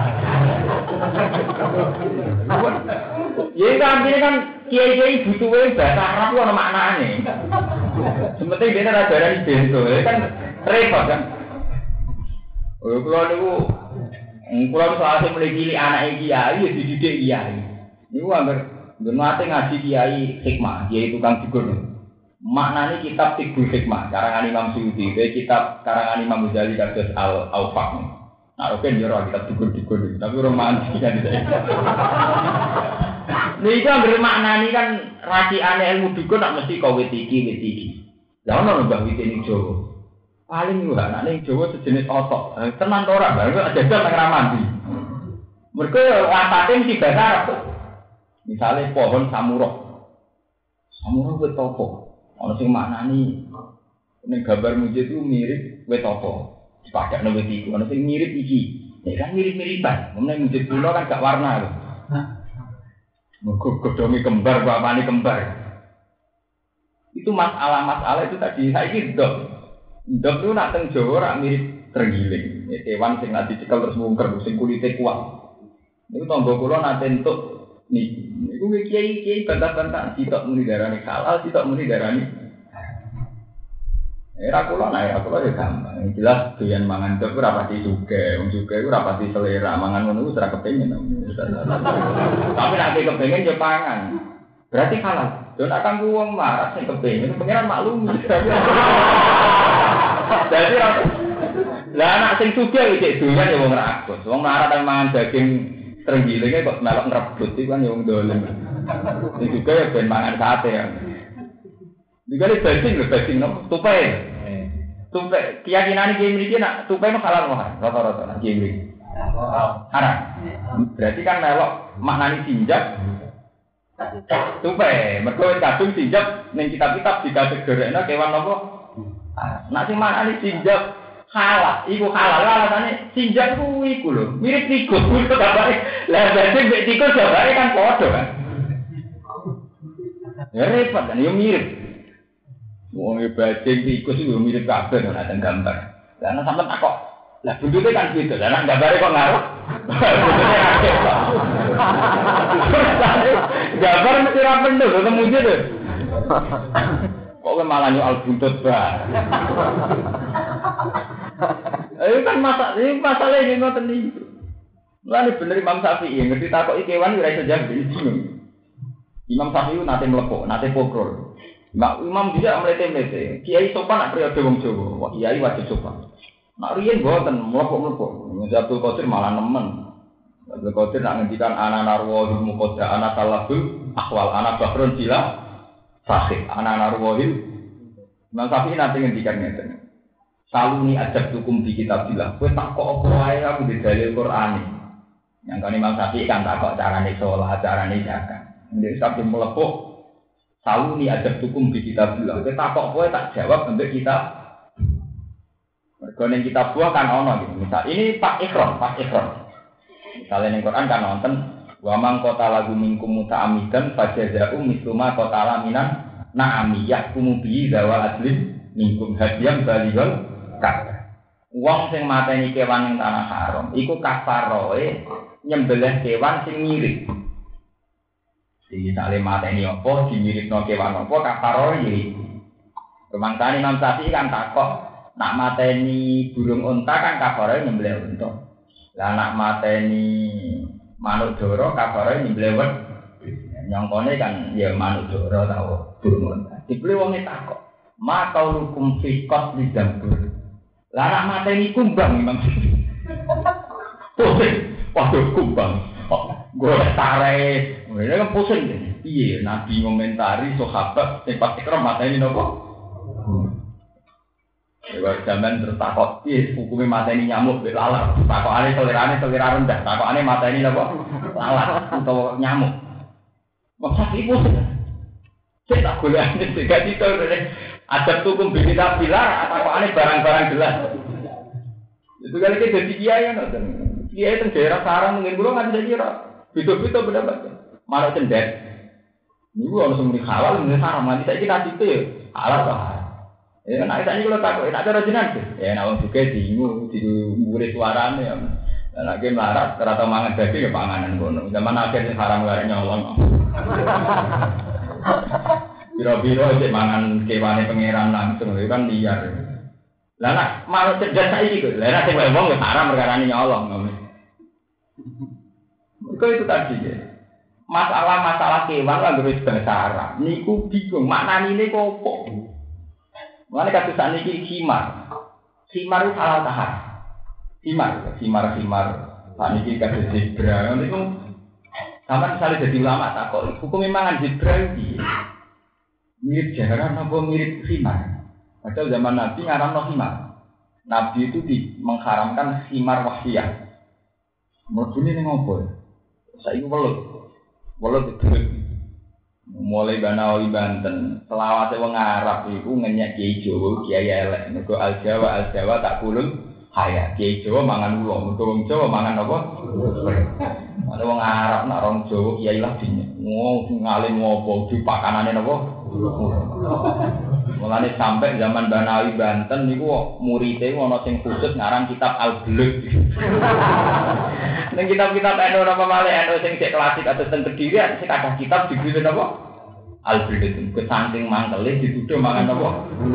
Ya kan kan kiai-kiai butuhe bahasa Arab ku ana maknane. Sementing dene ora darani bento, kan repot kan. Oh kula niku kula soalé mulai cilik anake kiai ya dididik kiai. Niku anggere nate ngaji kiai hikmah, kiai tukang digur. Maknane kitab Tibbul Hikmah karangan Imam Suyuti, kitab karangan Imam Ghazali kados Al-Awfaq. Nah, oke yo ora kitab digur-digur, tapi ora mandi kan iki. Nika anggere maknane kan raciane ilmu dukun nak mesti kowe iki wit iki. Lah ono mbah wit ning Jawa. Paling lho anake ning Jawa sejenis otok. Tenan to ora, lha jajal nang ramandi. Mergo wasate mesti bahasa Arab. Misale pohon samurah. Samurah wit apa? Ana sing maknani ning gambar mujid itu mirip wit apa? Dipadakno wit iku. Ana sing mirip iki. Ya kan mirip-miripan. Meneh mujid kula kan gak warna lho. Mergo godhonge kembar, bapane kembar. Itu masalah-masalah itu tadi saiki ndok. Ndok itu nak teng Jawa ora mirip terenggiling. Ya, kewan sing nak dicekel terus mungker sing kulite kuat. Niku tangga kula nate entuk niki. Niku kiai-kiai bantah-bantah sitok muni darani halal, sitok muni darani. Era kula nek era kula ya gampang. Jelas doyan mangan ndok ora pati sugih, wong sugih ora pati selera, mangan ngono wis ora kepengin. Tapi nek kepengin ya pangan. Berarti halal. Yo nek kanggo wong marah sing kepengin, pengenan maklum. Dadi ra. Lah anak sing sugih iki doyan ya wong rakus. Wong marah kan mangan daging terenggilinge kok melok ngrebut iki kan ya wong dolen. Sing sugih ya ben mangan sate ya. Dikali bacing lho bacing no tupai. Tupai keyakinan iki mriki nak tupai mah halal mah rata-rata nak iki mriki. Haram. Berarti kan melok maknani sinjak tupai, mergo kadung sinjak ning kitab-kitab dikategorekno kewan apa? Nek sing maknani sinjak halal, iku halal alasane sinjak ku iku lho, mirip tikus kuwi kok gambare. Lah berarti mek tikus gambare kan padha kan. Ya repot kan, yo mirip. Wong e bajing tikus iku mirip kabeh nek ana gambar. Lah ana sampean takok. Lah buntute kan beda. Lah nek gambare kok ngaruh. Gambar mesti ra pendho ketemu dhewe. Kok malah nyual buntut ba. Ayo kan masak, ini masalah ini ngoten iki. Lah bener Imam Syafi'i ngerti takoki kewan ora iso jawab iki. Imam Syafi'i nate mlepok, nate pokrol. Mak Imam dia mlete-mlete. Kiai sopan nak periode wong Jawa. Wah, kiai wajib sopan. Nak riyen mboten mlepok-mlepok. Abdul Qadir malah nemen. Abdul Qadir nak ngendikan ana narwahul muqadda ana talabul ahwal ana bahrun sila sahih ana narwahil. Imam Syafi'i nate ngendikan ngeten. Saluni ajab hukum di kitabillah. Kowe tak kok apa wae aku di dalil Qur'ane. Yang kan Imam Syafi'i kan tak kok carane salat, carane zakat. Nek sampe mlepok Saluni ajab hukum di kitabillah. Kowe tak kok kowe tak jawab untuk kita. Mergo ning kitab buah kan ono gitu. Misal ini Pak Ikhram, Pak Ikhram. Misalnya ning Quran kan nonton wa man qatala minkum muta'ammidan fajaza'u misluma qatala minan na'ami yahkumu bi dawal adlin minkum hadiyam balighal kafir. Wong sing mateni kewan ning tanah haram iku kafaroe nyembelih kewan sing mirip. Iki sale mateni apa dimiripno kewan apa kafaroe iki. Kemangsane Imam Syafi'i kan takok nak mateni burung unta kan kafaroe nyembelih unta. Lah nak mateni manuk dara kafaroe nyembelih wet. Nyongkone kan ya manuk dara ta burung unta. Dibeli wong takok, "Ma qaulukum fi qatli dambur?" Lah nak mateni kumbang Imam. Pusing. Waduh kumbang. Golek tarik. Ini kan pusing. Iya, Nabi ngomentari sahabat sing pas ikram mateni napa? Ya zaman tertakok, iya hukumnya mateni nyamuk mbek lalat. Takokane selerane selera rendah, takokane mateni napa? Lalat utawa nyamuk. Maksud iku sik tak golekane sik gak dito adab hukum beda pilar takokane barang-barang jelas. Itu kali ke dadi kiai kan. Kiai teng daerah sarang mungkin kula nggak bisa kira. Beda-beda pendapat. Malah cendet. Niku ana sing muni halal, muni haram. Nanti saiki nasi itu ya halal ta. Ya nek sak niku lho takok, nek cara jenengan. Ya nek wong sugih diingu, dimurid suarane ya. Nek ki melarat ora tau mangan daging ya panganan ngono. Zaman akhir sing haram wae nyolong. Biro-biro cek mangan kewane pangeran langsung itu kan liar. Lah nek mau cerdas saiki kok. Lah nek sing wong ya haram perkarane nyolong ngono. Kok itu tadi ya. Masalah-masalah kewan lah terus bahasa Arab. Niku bingung maknane kok opo. Mulane kados saniki khimar. Khimar itu halal tahar. Khimar, khimar-khimar. Saniki kados zebra. Niku sampeyan misalnya jadi ulama takok, hukum mangan zebra iki mirip jaran apa mirip khimar? Padahal zaman Nabi ngaramno khimar. Nabi itu di, mengharamkan khimar wahsiyah. Mlebune ning opo? Saiki welut. Welut didelok. Mulai Banawi Banten, selawase wong Arab iku ngenyek Kiai Jawa, Kiai elek. Mergo al Jawa al Jawa tak kulun haya. Kiai Jawa mangan ulo, mergo wong Jawa mangan apa? Ada wong Arab nak orang Jawa Kiai lah dinyek. Wong ngalim ngopo dipakanane napa? Mulane sampai zaman Banawi Banten niku murite ana sing khusus ngarang kitab Al-Bulugh. Ning kitab-kitab eno apa malih eno sing cek klasik atau sing Kediri sing ada kitab dibeli napa? Al-Bulugh. Kesaking mangkele dituduh mangan napa?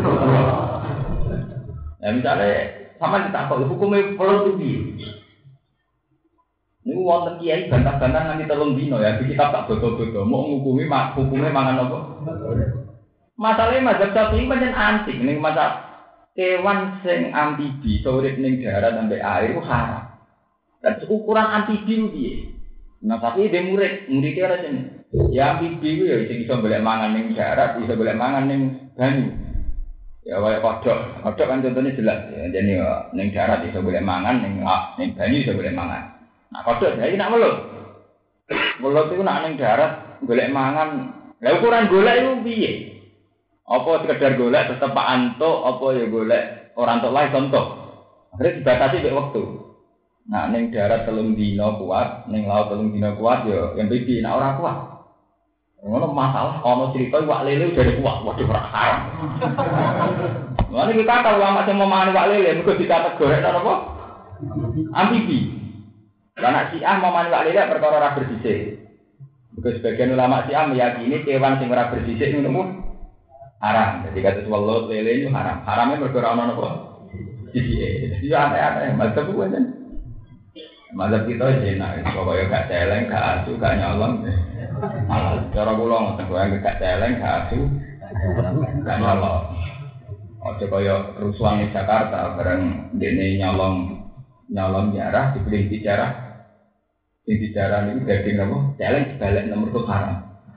Ya misale sampeyan ditakok hukume pelot piye? Niku wonten kiai bantah-bantah nganti telung dino ya, kitab tak bodo-bodo mau ngukumi mak hukume mangan apa? Masalahnya mazhab Syafi'i pancen antik ning masalah kewan sing amfibi urip ning darat sampai air ku haram. Dan ukuran amfibi piye? Nah tapi dia murid, muridnya ora sing ya amfibi ku ya sing iso golek mangan ning darat, iso golek mangan ning banyu. Ya kaya kodhok, kodhok kan contohnya jelas ya. Jadi ning darat iso golek mangan, ning ning banyu iso golek mangan. Nah kodhok saiki nak welut. Welut iku nak ning darat golek mangan. Lah ukuran golek iku piye? Apa sekedar golek tetep Pak Antuk, apa ya golek ora entuk lae contoh. Akhire dibatasi mek wektu. Nah ning darat telung dina kuat, ning laut telung dina kuat ya yang pipi nek ora kuat. Ngono masalah ana cerita iwak lele jadi kuat, waduh ora haram. Lah iki kata ulama sing mau mangan iwak lele mergo dikategorikno apa? Amfibi. Lah nek Syiah mau mangan iwak lele perkara ora bersisik. Mergo sebagian ulama Syiah meyakini kewan sing ora bersisik niku haram. Jadi kata welut lele itu haram. Haramnya bergerak ana napa? Sisi. Jadi aneh-aneh mazhab ku kan. Mazhab kita enak, pokoke gak celeng, gak asu, gak nyolong. Malah cara kula ngoten kowe gak celeng, gak asu, gak nyolong. Aja kaya rusuhan di Jakarta bareng dene nyolong nyolong jarah dibeli bicara. Sing bicara niku daging napa? Celeng dibalik nomor tuh haram.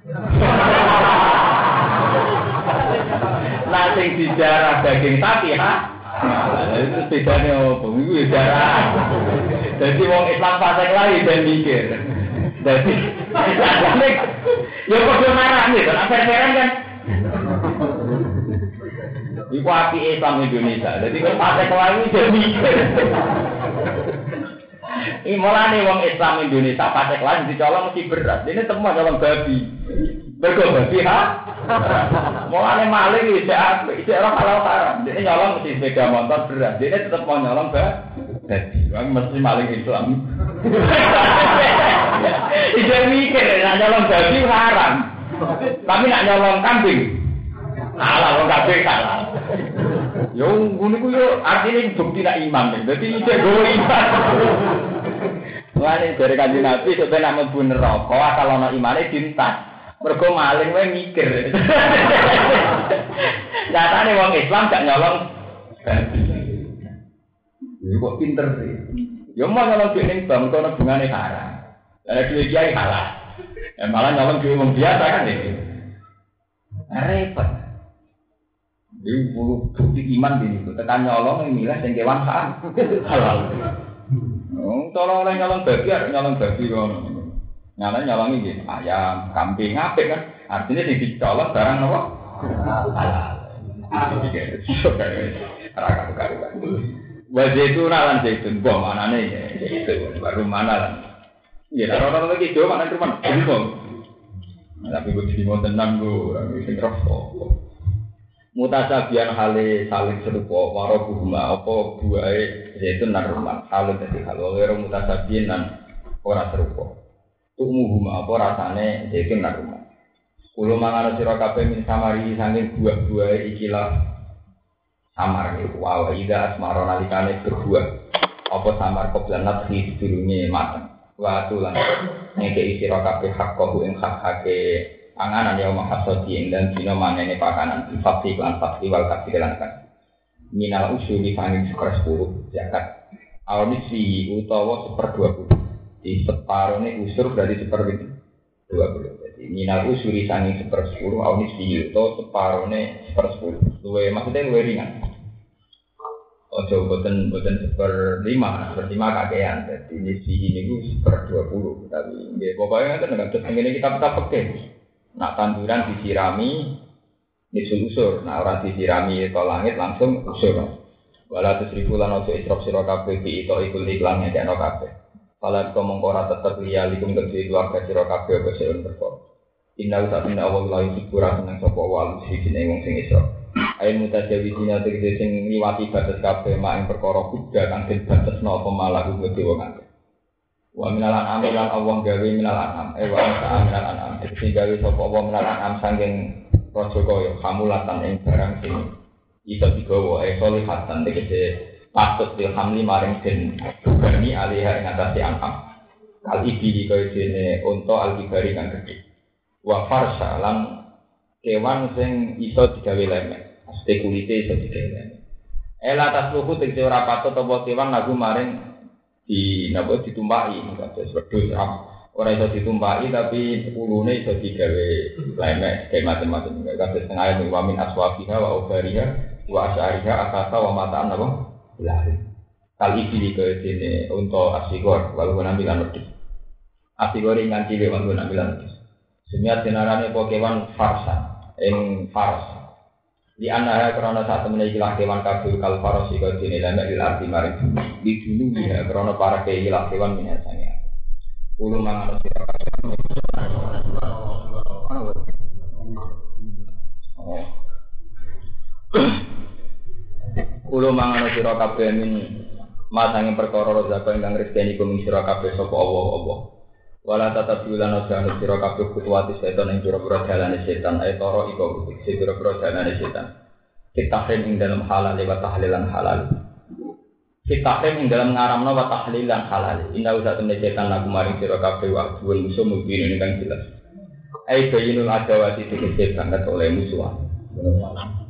Nah, sing dijarah daging sapi, ha? Nah, itu bedanya apa? Itu dijarah. Jadi wong Islam fasik lain dan mikir. Jadi, ya kode marah nih, kan? Afer-aferan kan? Iku api Islam Indonesia. Jadi kan fasik lain dan mikir. Ini mulane wong Islam Indonesia fasik lain dicolong mesti berat. Ini semua colong babi. Bergo babi ha? Mulane maling iki iki ora halal haram. Dene nyolong mesti sepeda motor berat. Dene tetep mau nyolong babi. Wong mesti maling Islam. Iki mikir nek nyolong babi haram. Tapi nek nyolong kambing halal, wong kambing halal. Yo ngono ku yo artine bukti nek iman. Dadi iki go iman. Mulane dari Kanjeng Nabi sampe nek mlebu neraka asal ana imane dintas. Mergo maling wae mikir. Nyatane wong Islam gak nyolong babi. Iku kok pinter sih. Ya mau nyolong duit ning bank kono bungane haram. Lah duit kiai halal. Ya malah nyolong duit wong biasa kan iki. Repot. Iku bukti iman iki. Tekan nyolong milih sing kewan halal. Wong tolong oleh nyolong babi arep nyolong babi kono. Nyala nyolongi gitu, ayam, kambing, apik kan? Artinya sing dicolong barang apa? Halal. Itu kayak raka karuan. Wajah itu nalan zaitun, bom anane itu baru mana lah? Ya orang-orang lagi jauh mana rumah, bom. Tapi gue jadi mau tenang gue, sing rokok. Mutasabian hale saling serupa warobuhuma apa buahe zaitun lan rumah saling dadi hal wero mutasabian lan ora serupa tumuhuma apa rasane zaitun lan rumah kulo mangan sira kabeh min samari saking buah-buahe ikilah samar iku wa ida asmara nalikane berbuah apa samar koblanat di sedurunge mateng wa tulan ngeke sira kabeh hak kok ing hak-hake panganan ya mahasodi ing dan dina manene pakanan infati lan fakti wal kasih lan kan minal usuli fanging seper sepuluh zakat awnisfi utawa seper dua puluh di separone usur berarti seper dua puluh jadi minal usuli fanging seper sepuluh awnisfi utawa separone seper sepuluh luwe maksudnya luwe ringan ojo boten boten seper lima seper lima kakean jadi nisfi ini ku seper dua puluh tapi nggih pokoknya kan nek ngene kitab-kitab pekeh. Nak tanduran disirami nisul usur, nah orang disirami ke langit langsung usur. Walau tu seribu lan ojo isrop siro kabeh bi ito ikul iklannya jano kabeh. Kalau kau mengkora tetap liya likum kedua keluarga siro kabeh beseun berkor. Inna usah inna awal lain sikura senang sopo walu sisin wong sing isrop. Ayo mutajawizina tegese sing liwati batas kabeh mak ing perkara kuda kang den batasno apa malah kudu dewa kabeh. Wa minal an'am lan Allah gawe minal an'am eh wa an'am minal an'am sing gawe sapa Allah minal an'am saking raja kaya hamulatan ing barang sing iso digawa eh solihatan tegese patut dilhamli maring den bani alihah ing atase an'am kal iki kaya dene unta al-kibari kang gedhe wa farsha lan kewan sing iso digawe lemek mesti kulite iso digawe lemek ela tasluhu tegese ora patut apa kewan lagu maring di napa ditumpaki kados wedhus ora iso ditumpaki tapi ulune iso digawe lemek kayak macam-macam kados tengah ayat wa min aswafiha wa ubariha wa asyariha akasa wa mataan napa lari kali iki kaya dene unta asigor walu nambilan wedhus asigor ingan cilik walu nambilan wedhus sumiat denarane pokewan farsa ing fars di antara kerana saat menaiki kewan kabul kal farosi kau dini lemek di arti maring di dulu ya kerana para kehilah kewan minasanya ulu mangan sirakat ulu mangan sirakat min masangin perkara rozaka ingkang rezeki kuming sirakat sapa Allah Allah wala tatap bulan ojo sira kabeh kutuwati setan ing pira-pira dalane setan ae toro iku pira-pira dalane setan kitahrim ing dalam halal wa tahlilan halal kitahrim ing dalam ngaramno wa tahlilan halal inna usa temne setan lagu maring sira kabeh wa duwe musuh mungkin ini kan jelas ae bayinul adawati tegese banget oleh musuhan